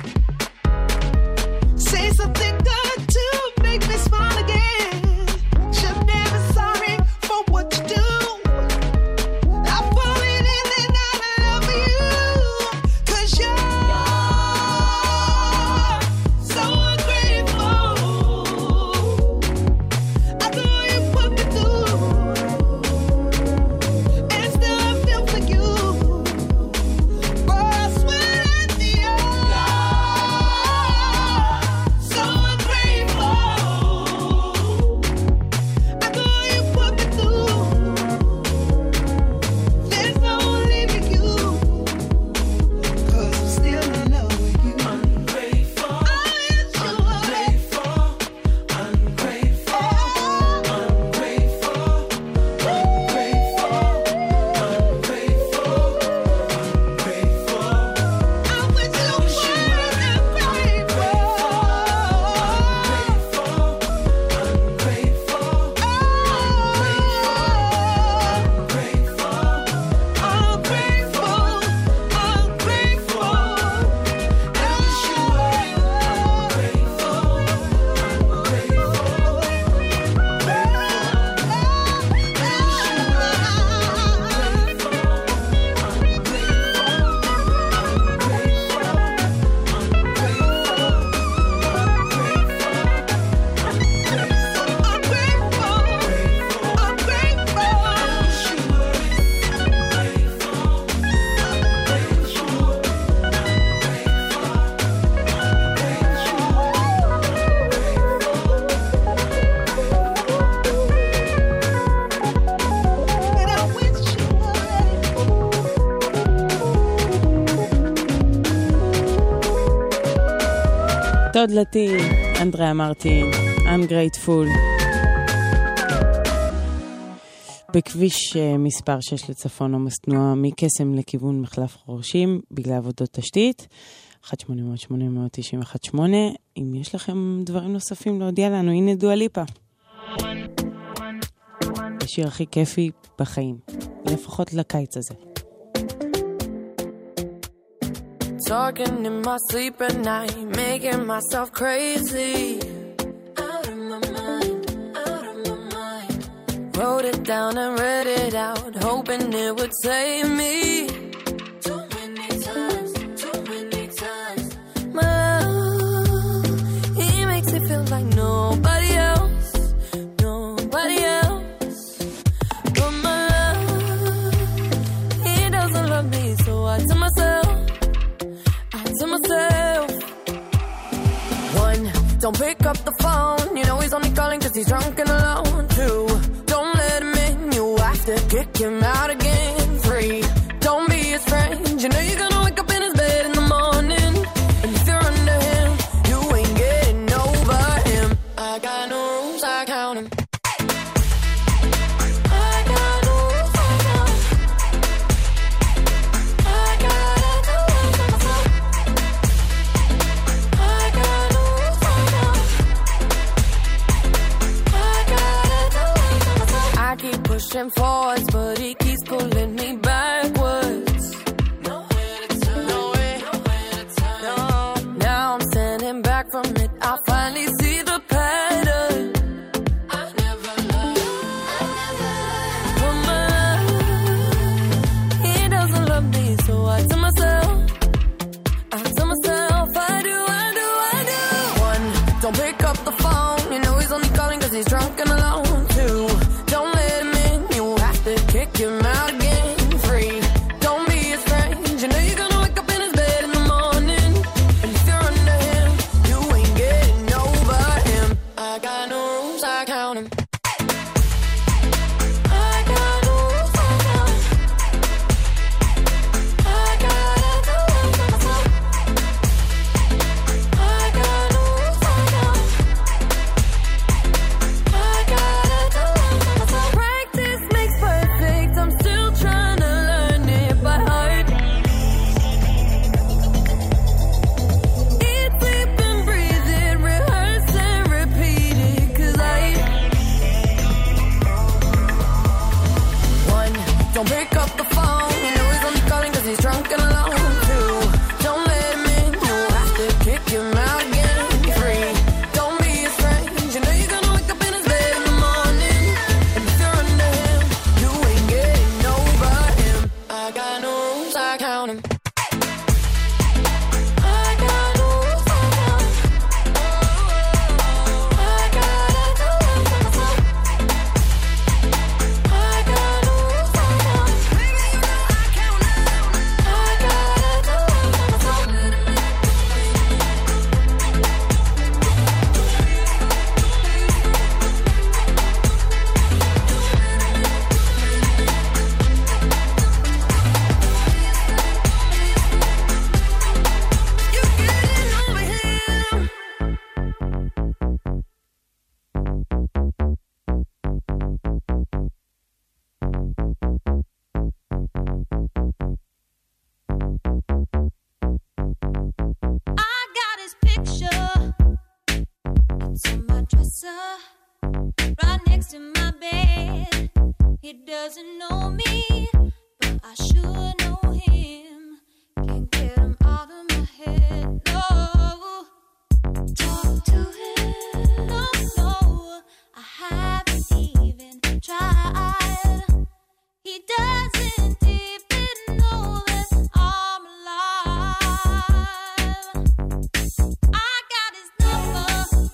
Say something good to make me smile again. Should never sorry for what you do. I'm falling in and out of love for you. 'Cause you're so ungrateful. I know you put me through, and still I feel for you. Oh, I swear at the so ungrateful. I know you put me through. There's no leaving you, 'cause I'm still in love with you. Ungrateful. Oh, yes, you are. Ungrateful. Ungrateful. Ungrateful. Ungrateful. Ungrateful. Ungrateful. I wish you weren't ungrateful. Ungrateful. תודלתי, אנדריה מרטין, Ungrateful. בכביש אה, מספר שש לצפון עומס תנועה מקסם לכיוון מחלף חורשים בגלל עבודות תשתית. אחת שמונה אפס אפס שמונה תשע אחת שמונה. אם יש לכם דברים נוספים להודיע לנו, הנה דואה ליפה. השיר הכי כיפי בחיים, לפחות לקיץ הזה. Talking in my sleep at night, making myself crazy. Out of my mind, out of my mind. Wrote it down and read it out, hoping it would save me. Too many times, too many times. My love, he makes me feel like nobody else, nobody else. But my love, he doesn't love me, so I tell myself, to myself. One, don't pick up the phone. You know he's only calling 'cause he's drunk and alone. Two, don't let him in. You have to kick him out again. Three, don't be his friend. You know you're gonna wake up in his bed in the morning, and if you're under him, you ain't getting over him. I got no rules, I count him. Pushing forwards, but he keeps pulling me backwards. Nowhere to turn, nowhere, nowhere to turn. No. Now I'm standing back from it. I finally see the pattern. I never loved, I never loved. My love, he doesn't love me, so I tell myself, I tell myself, I do, I do, I do. One, don't pick up the phone. You know he's only calling 'cause he's drunk and alone. Two, don't let him in. You have to kick him out again. Free. I count 'em. Don't pick up the phone, you know he's only calling cause he's drunk and alone too. Don't let him in, you'll have to kick him out again. Free, don't be his friend, you know you're gonna wake up in his bed in the morning. And if you're under him, you ain't getting over him. I got no rules, I count 'em. Right next to my bed. He doesn't know me, but I sure know him. Can't get him out of my head. No, talk to him. No, no, I haven't even tried. He doesn't even know that I'm alive. I got his number.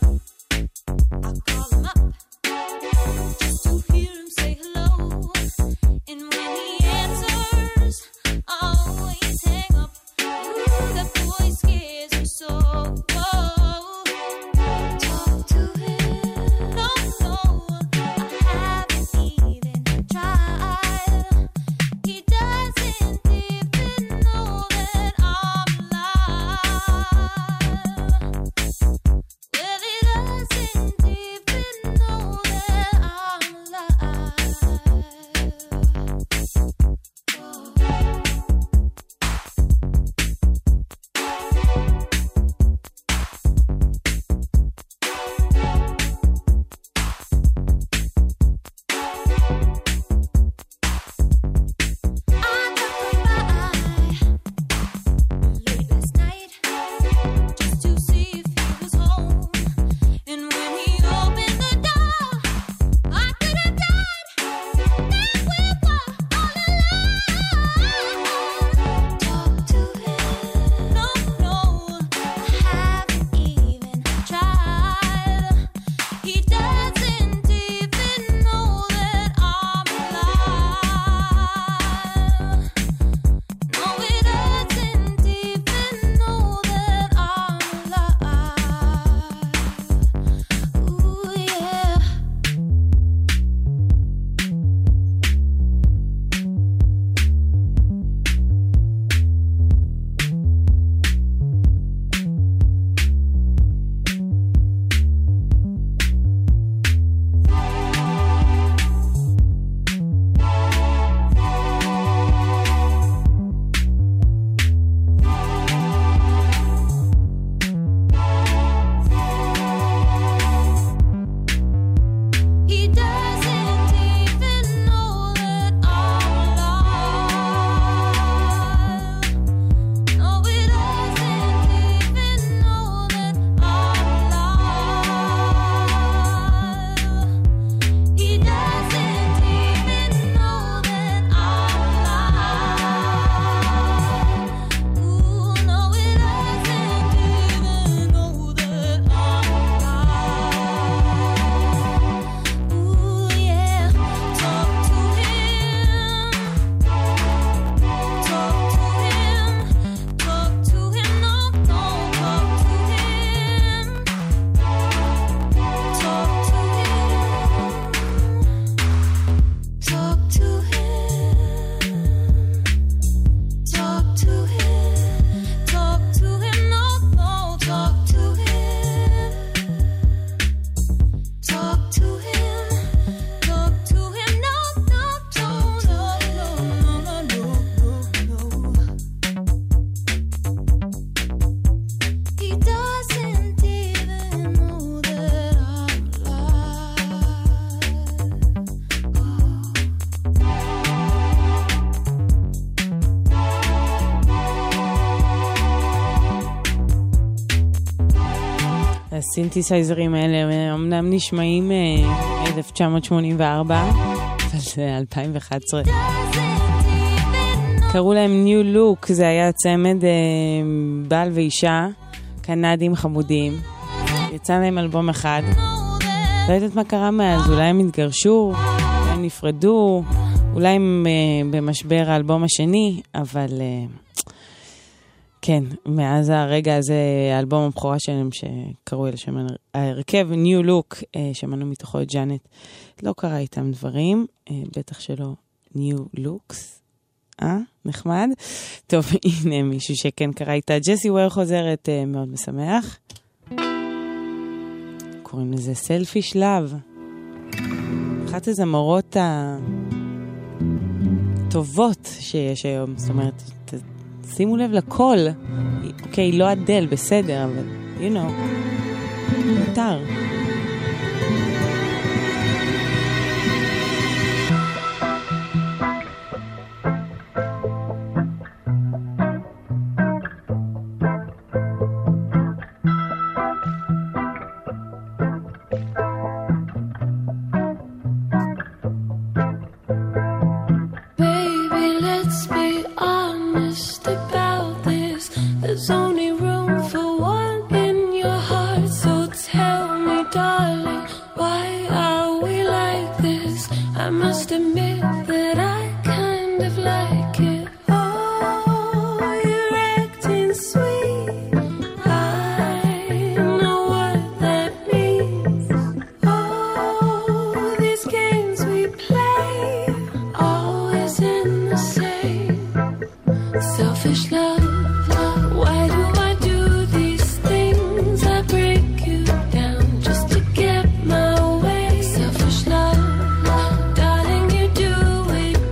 Call him up just to hear him say hello. And when he answers, I always hang up. Ooh, that voice scares me so. Whoa. Talk to him. No, no, הסינתסייזרים האלה אמנם נשמעים אלף תשע מאות שמונים וארבע, אבל זה אלפיים ואחת עשרה. קראו להם New Look, זה היה צמד בעל ואישה, קנדים חמודים. יצא להם אלבום אחד. לא יודעת מה קרה מאז, אולי הם התגרשו, אולי הם נפרדו, אולי הם במשבר האלבום השני, אבל... כן, מאז הרגע הזה, האלבום הבכורה שלהם שקראו אל שם ההרכב, New Look, שמענו מתוכו את ג'אנט. לא קרה איתם דברים, בטח שלא New Looks. אה? נחמד? טוב, הנה מישהו שכן קרה איתה. ג'סי וויר חוזרת, מאוד משמח. קוראים לזה Selfish Love. אחת הזמרות הטובות שיש היום, זאת אומרת... שימו לב לכל. אוקיי, לא אדל, בסדר, אבל, you know, מותר. It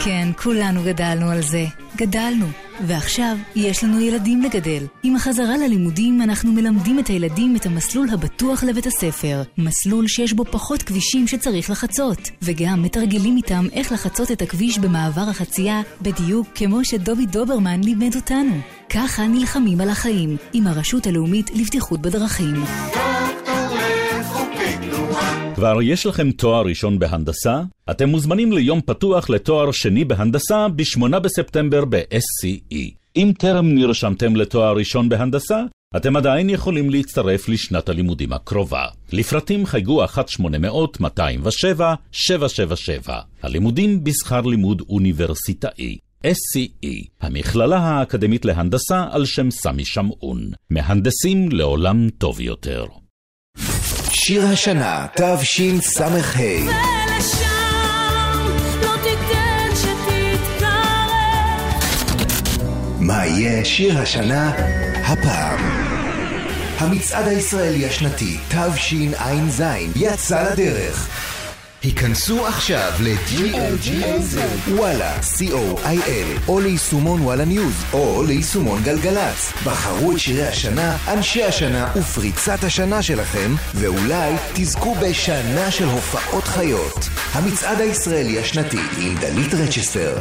כן, כולנו גדלנו על זה. גדלנו. ועכשיו יש לנו ילדים לגדל. עם החזרה ללימודים אנחנו מלמדים את הילדים את המסלול הבטוח לבית הספר. מסלול שיש בו פחות כבישים שצריך לחצות. וגם מתרגלים איתם איך לחצות את הכביש במעבר החצייה, בדיוק כמו שדובי דוברמן לימד אותנו. ככה נלחמים על החיים, עם הרשות הלאומית לבטיחות בדרכים. כבר יש לכם תואר ראשון בהנדסה? אתם מוזמנים ליום פתוח לתואר שני בהנדסה ב-שמונה בספטמבר ב-אס סי אי. אם טרם נרשמתם לתואר ראשון בהנדסה, אתם עדיין יכולים להצטרף לשנת הלימודים הקרובה. לפרטים חייגו אחת שמונה אפס אפס שתיים שבע שבע שבע שבע. הלימודים בשכר לימוד אוניברסיטאי. אס סי אי, המכללה האקדמית להנדסה על שם סמי שמעון. מהנדסים לעולם טוב יותר. שיר השנה, תשס"ה. ולשם לא תיתן שתתקרב. מה יהיה שיר השנה הפעם? המצעד הישראלי השנתי תשע"ז יצא לדרך. היכנסו עכשיו ל-ג'י אל ג'י אל זד, וואלה, סי או איי אל, או ליישומון וואלה ניוז, או ליישומון גלגלץ. בחרו את שירי השנה, אנשי השנה ופריצת השנה שלכם, ואולי תזכו בשנה של הופעות חיות. המצעד הישראלי השנתי עם דלית רצ'סטר.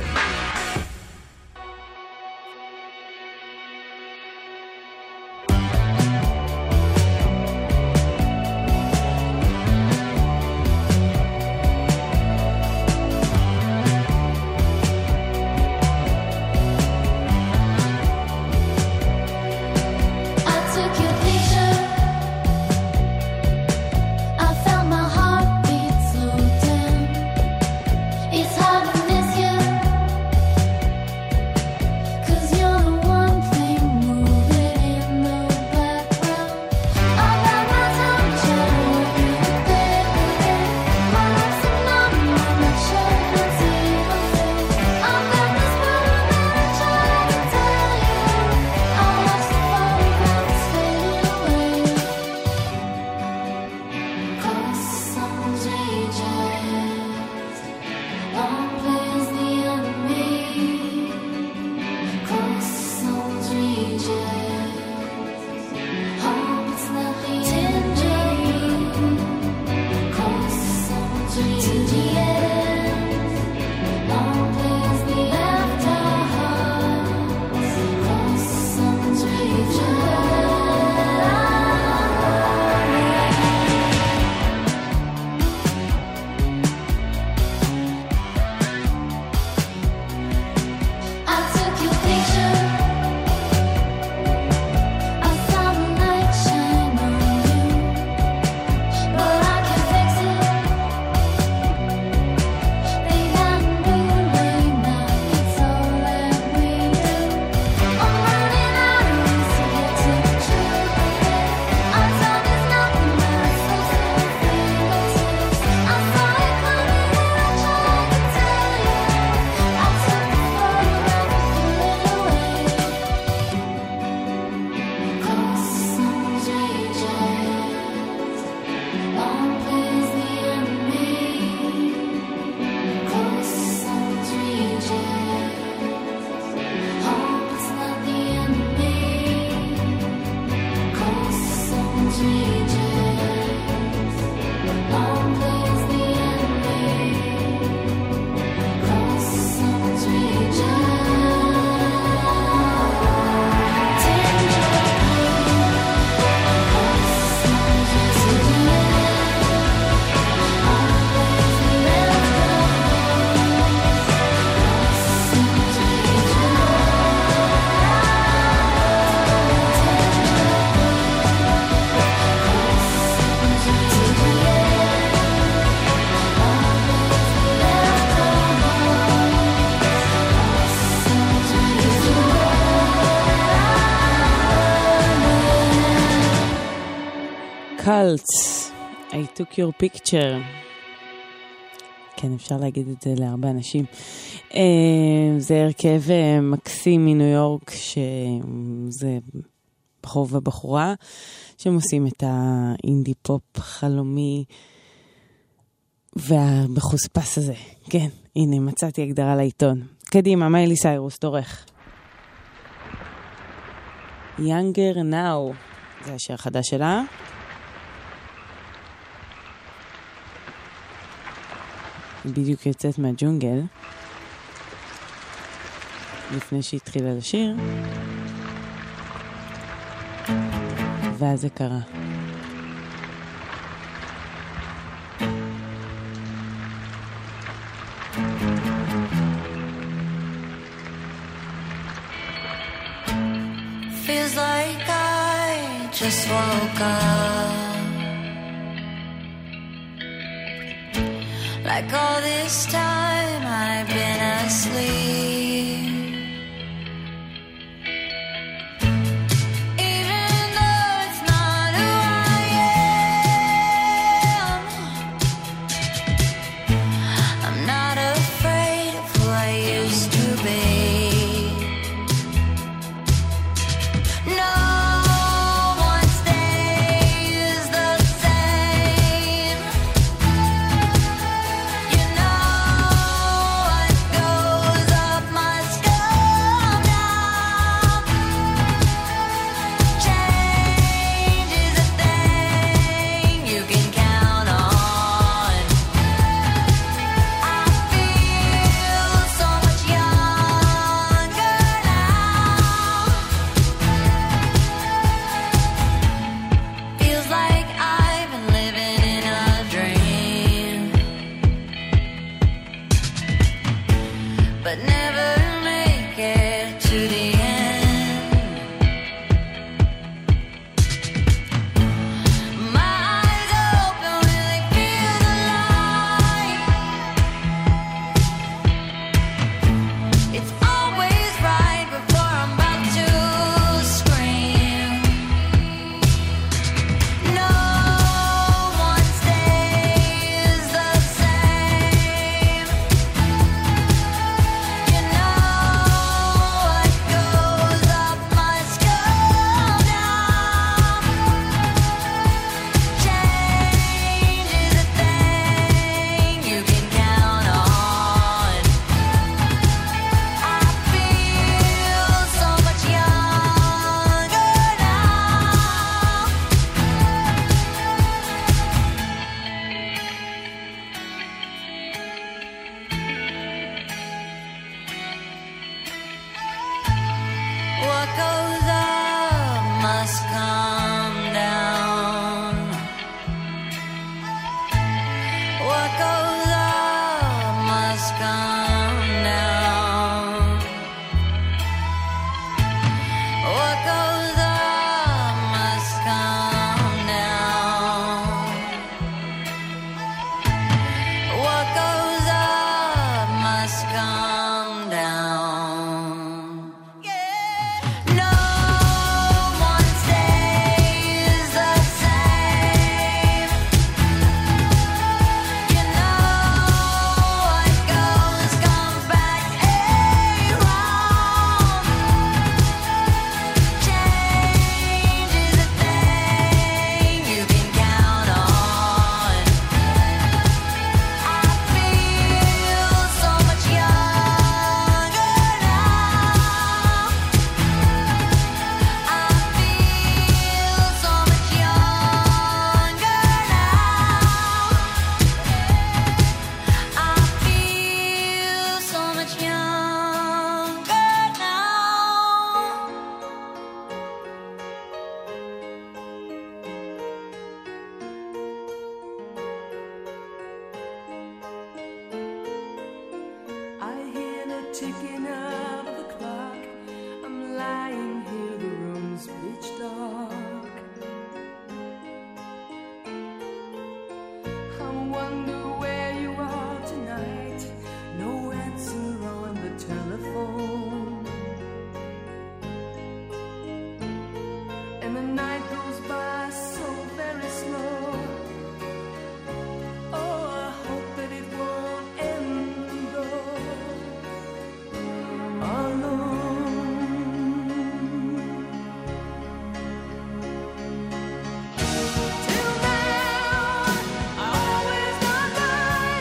Cults, I took your picture. כן, אפשר להגיד את זה להרבה אנשים. זה הרכב מקסים מניו יורק, שזה בחור ובחורה, שהם עושים את האינדי פופ חלומי, והמחוספס הזה. כן, הנה, מצאתי הגדרה לעיתון. קדימה, מיילי סיירוס, תורך. Younger Now, זה השיר החדש שלה. בדיוק יוצאת מהג'ונגל. לפני שהתחילה לשיר. ואז זה קרה. Feels like I just woke up, like all this time I've been asleep. Even though it's not who I am, I'm not afraid of who I used to be. ticking of the clock. I'm lying here, the room's pitch dark. I wonder where you are tonight. No answer on the telephone. And the night goes by so very slow. Oh, I hope that it won't end though. Till now, I always wondered.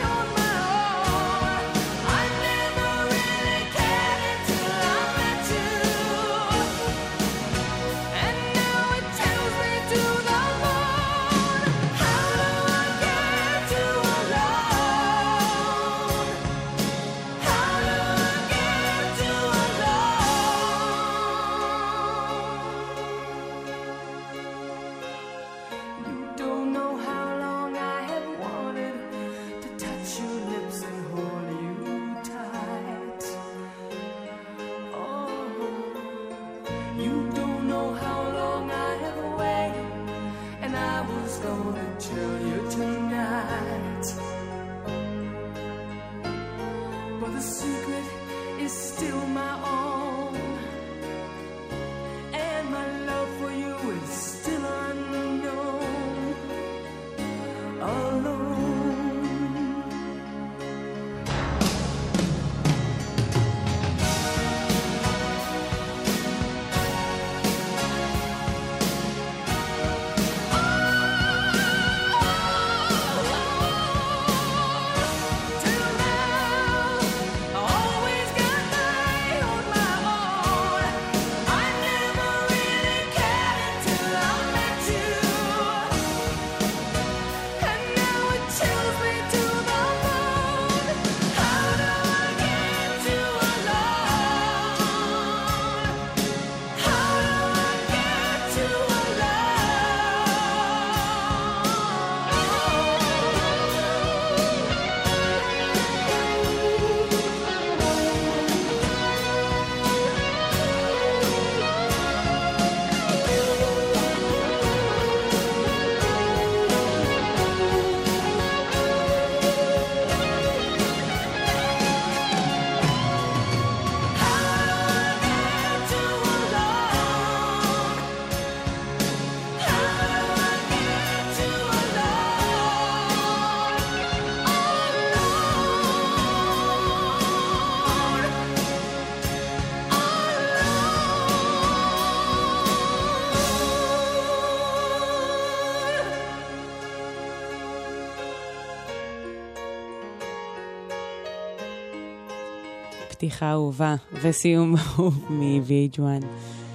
פתיחה אהובה וסיום אהוב מ-וי אייץ' וואן.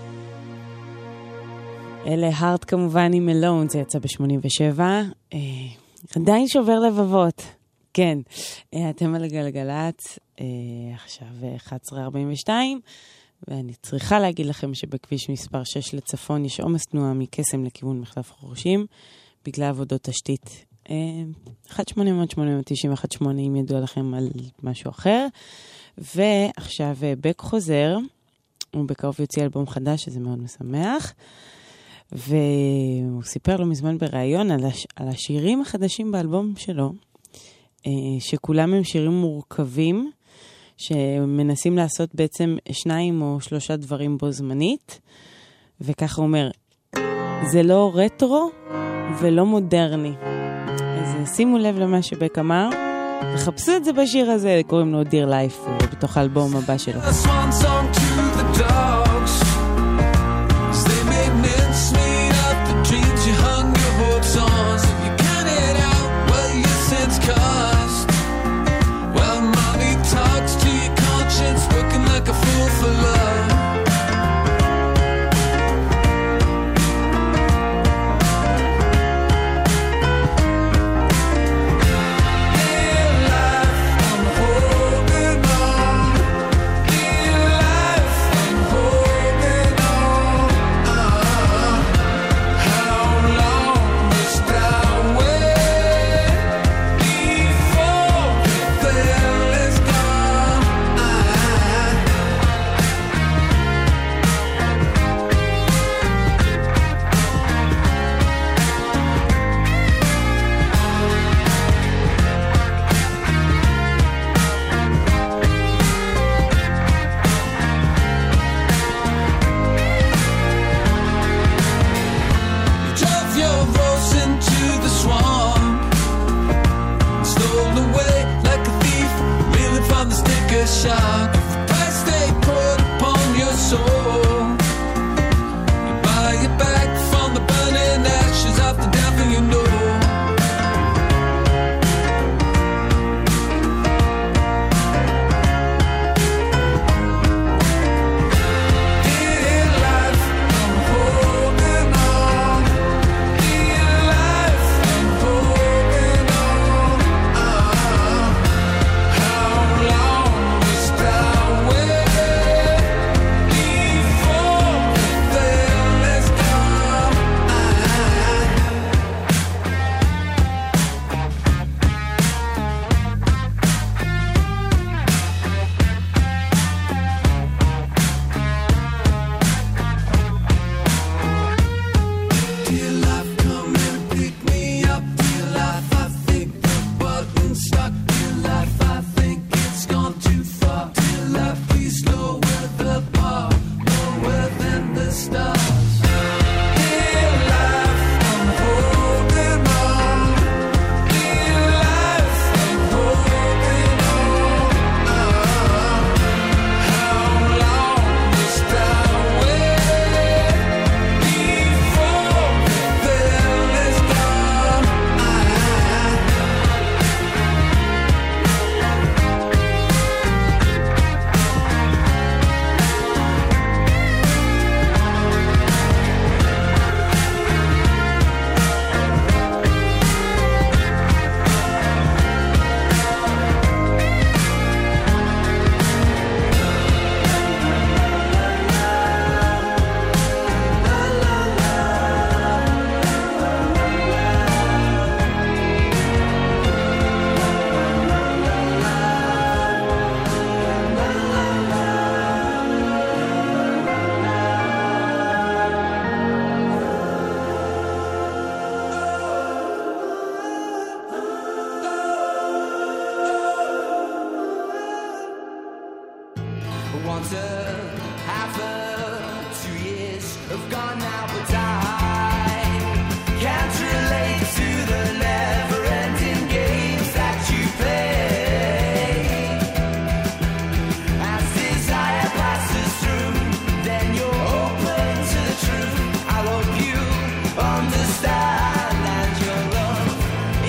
אלה הארט כמובן עם מלון, זה יצא ב-שמונים ושבע. אה, עדיין שובר לבבות. כן, אה, אתם על גלגלת, אה, עכשיו אחת עשרה ארבעים ושתיים, ואני צריכה להגיד לכם שבכביש מספר שש לצפון יש עומס תנועה מקסם לכיוון מחלף חורשים, בגלל עבודות תשתית. אה, אחת שמונה אפס שמונה תשע אחת שמונה אם ידוע לכם על משהו אחר. ועכשיו בק חוזר, הוא בקרוב יוציא אלבום חדש, שזה מאוד משמח. והוא סיפר לו מזמן בראיון על, הש... על השירים החדשים באלבום שלו, שכולם הם שירים מורכבים, שמנסים לעשות בעצם שניים או שלושה דברים בו זמנית, וככה הוא אומר, זה לא רטרו ולא מודרני. אז שימו לב למה שבק אמר, וחפשו את זה בשיר הזה, קוראים לו Dear Life, בתוך האלבום הבא שלו.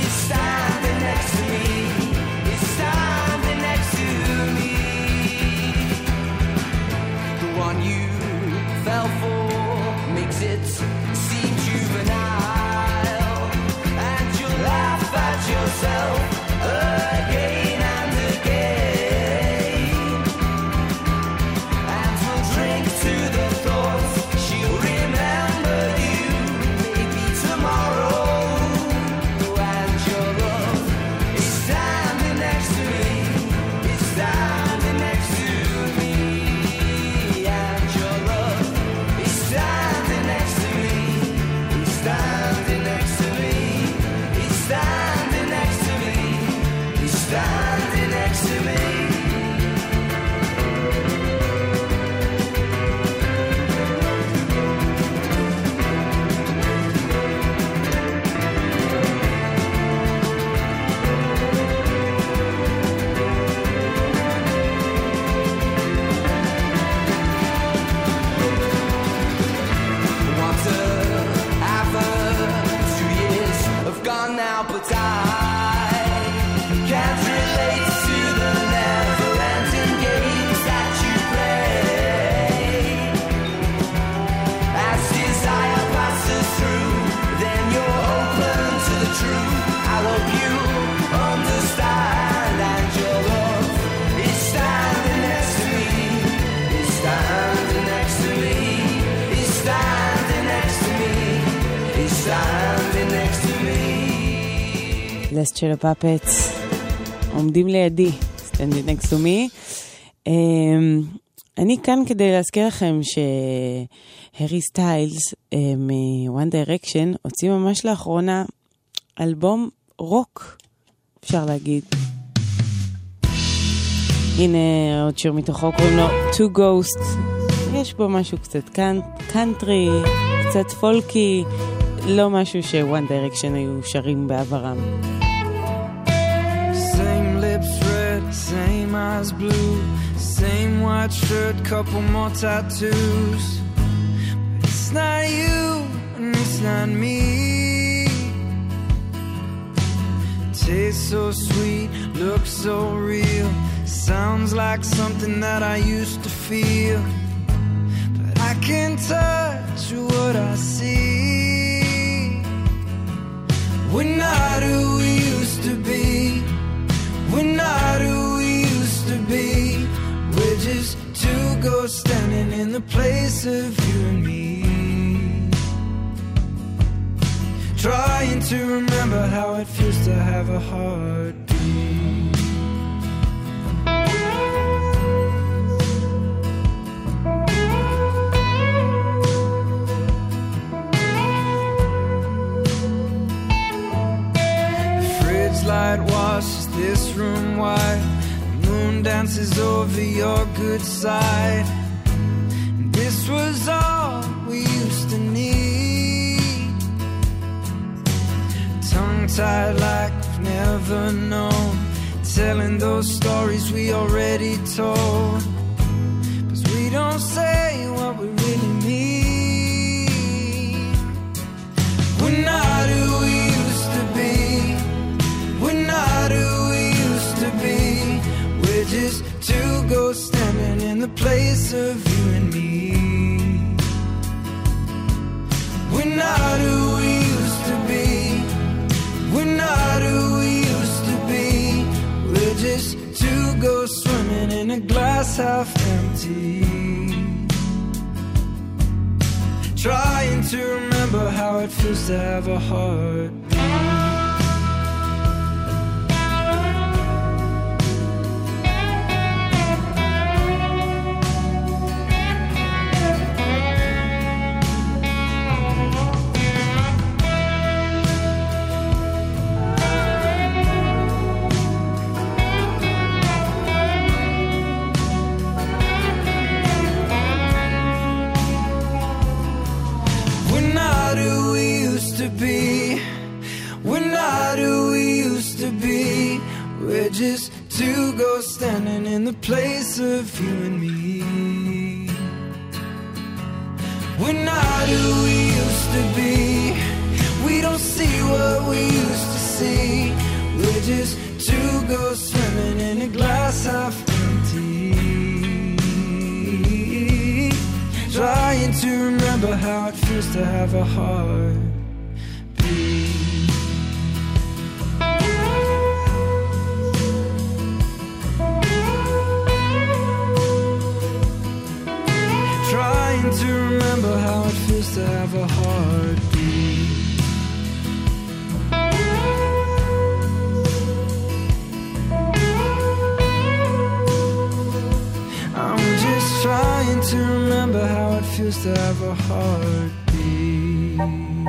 Standing next to me. yourself or makes it seem juvenile, and you laugh at yourself again and again, and we'll drink to the thoughts she'll remember you maybe tomorrow, and your love is standing next to me, is standing next to me, and your love is standing next to me, is standing next to me, is standing next to me, is standing next to me. Want to have a two years have gone now, but I can't relate to the never-ending games that you play. As desire passes through, then you're open to the truth. I hope you understand, and your love is standing next to me, is standing next to me, is standing next to me, is standing next to me. לסט של הפאפטס עומדים לידי, סטנדי נקסט טו מי. אני כאן כדי להזכיר לכם שהרי סטיילס מ-One Direction הוציא ממש לאחרונה אלבום רוק, אפשר להגיד. הנה עוד שיר מתוכו, קוראים לו Two Ghosts. יש בו משהו קצת קאנטרי, קצת פולקי, לא משהו ש-One Direction היו שרים בעברם. Same lips red, same eyes blue, same white shirt, couple more tattoos. But it's not you and it's not me. Tastes so sweet, looks so real, sounds like something that I used to feel. But I can't touch what I see. We're not who we used to be. We're not who we used to be. We're just two ghosts standing in the place of you and me. Trying to remember how it feels to have a heartbeat. The fridge light washes this room white. The moon dances over your good side. And this was all we used to need. Tongue-tied like we've never known, telling those stories we already told. 'Cause we don't say what we really mean. We're not who we used to be. We're not who we used to be. We're just two ghosts standing in the place of you and me. We're not who we used to be. We're not who we used to be. We're just two ghosts swimming in a glass half empty. Trying to remember how it feels to have a heart. We're not who we used to be. We're not who we used to be. We're just two ghosts standing in the place of you and me. We're not who we used to be. We don't see what we used to see. We're just two ghosts swimming in a glass half empty. Trying to remember how it feels to have a heart beat. Trying to remember how it feels to have a heartbeat. I'm just trying to remember how it feels to have a heartbeat.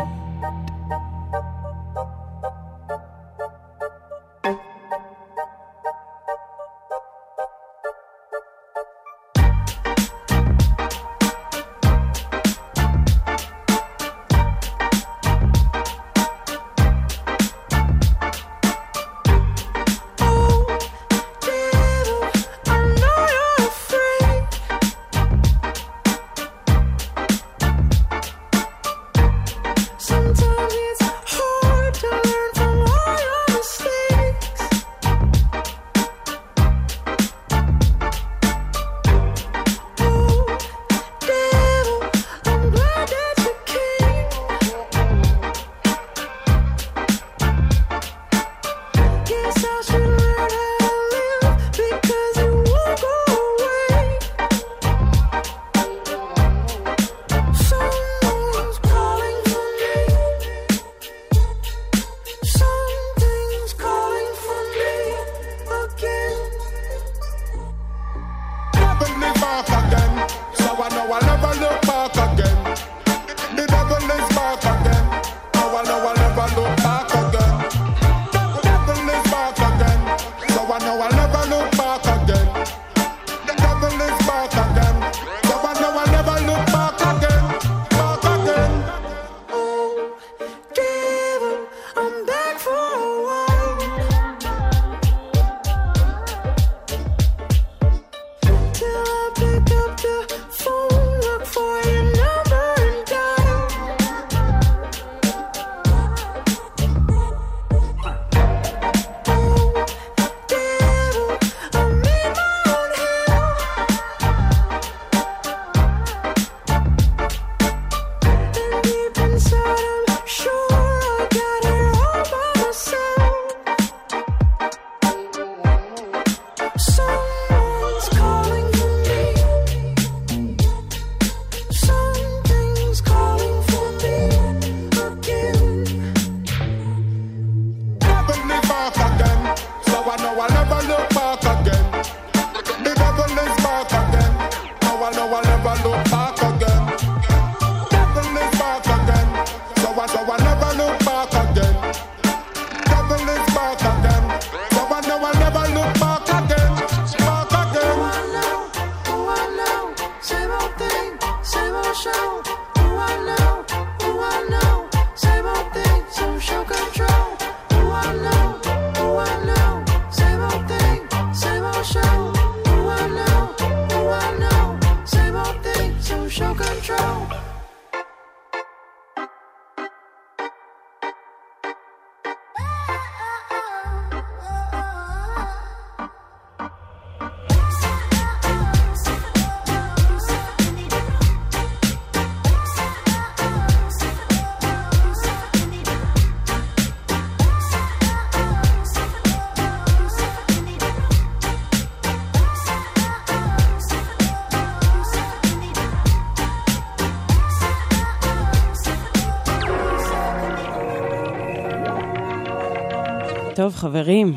טוב, חברים.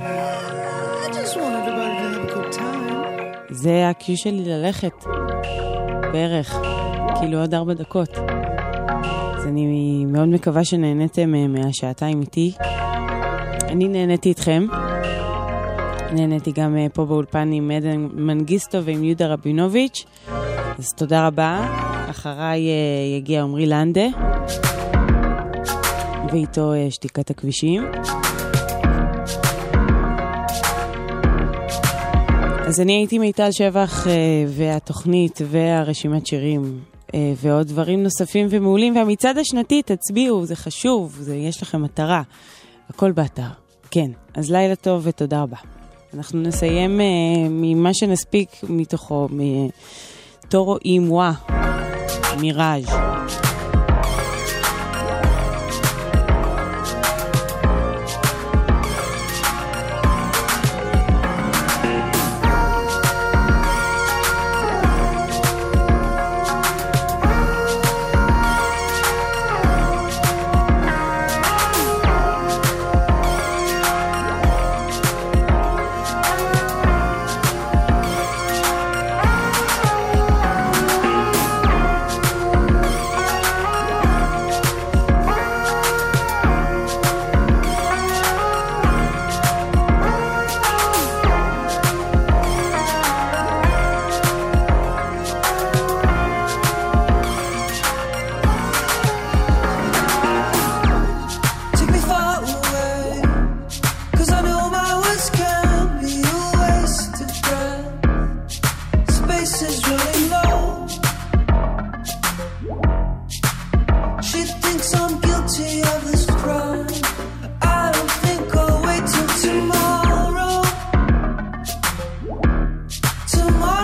זה הקיו שלי ללכת. בערך. כאילו עוד ארבע דקות. אז אני מאוד מקווה שנהניתם מהשעתיים איתי. אני נהניתי איתכם. נהניתי גם פה באולפן עם עדן מנגיסטו ועם יהודה רבינוביץ'. אז תודה רבה. אחריי יגיע עומרי לנדה. ואיתו שתיקת הכבישים. אז אני הייתי מיטל שבח, והתוכנית והרשימת שירים ועוד דברים נוספים ומעולים, והמצעד השנתי, תצביעו, זה חשוב, זה, יש לכם מטרה, הכל באתר. כן, אז לילה טוב ותודה רבה. אנחנו נסיים ממה שנספיק מתוכו, מתורו אימווה. מיראז'.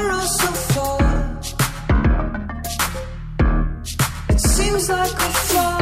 Seems like a fall.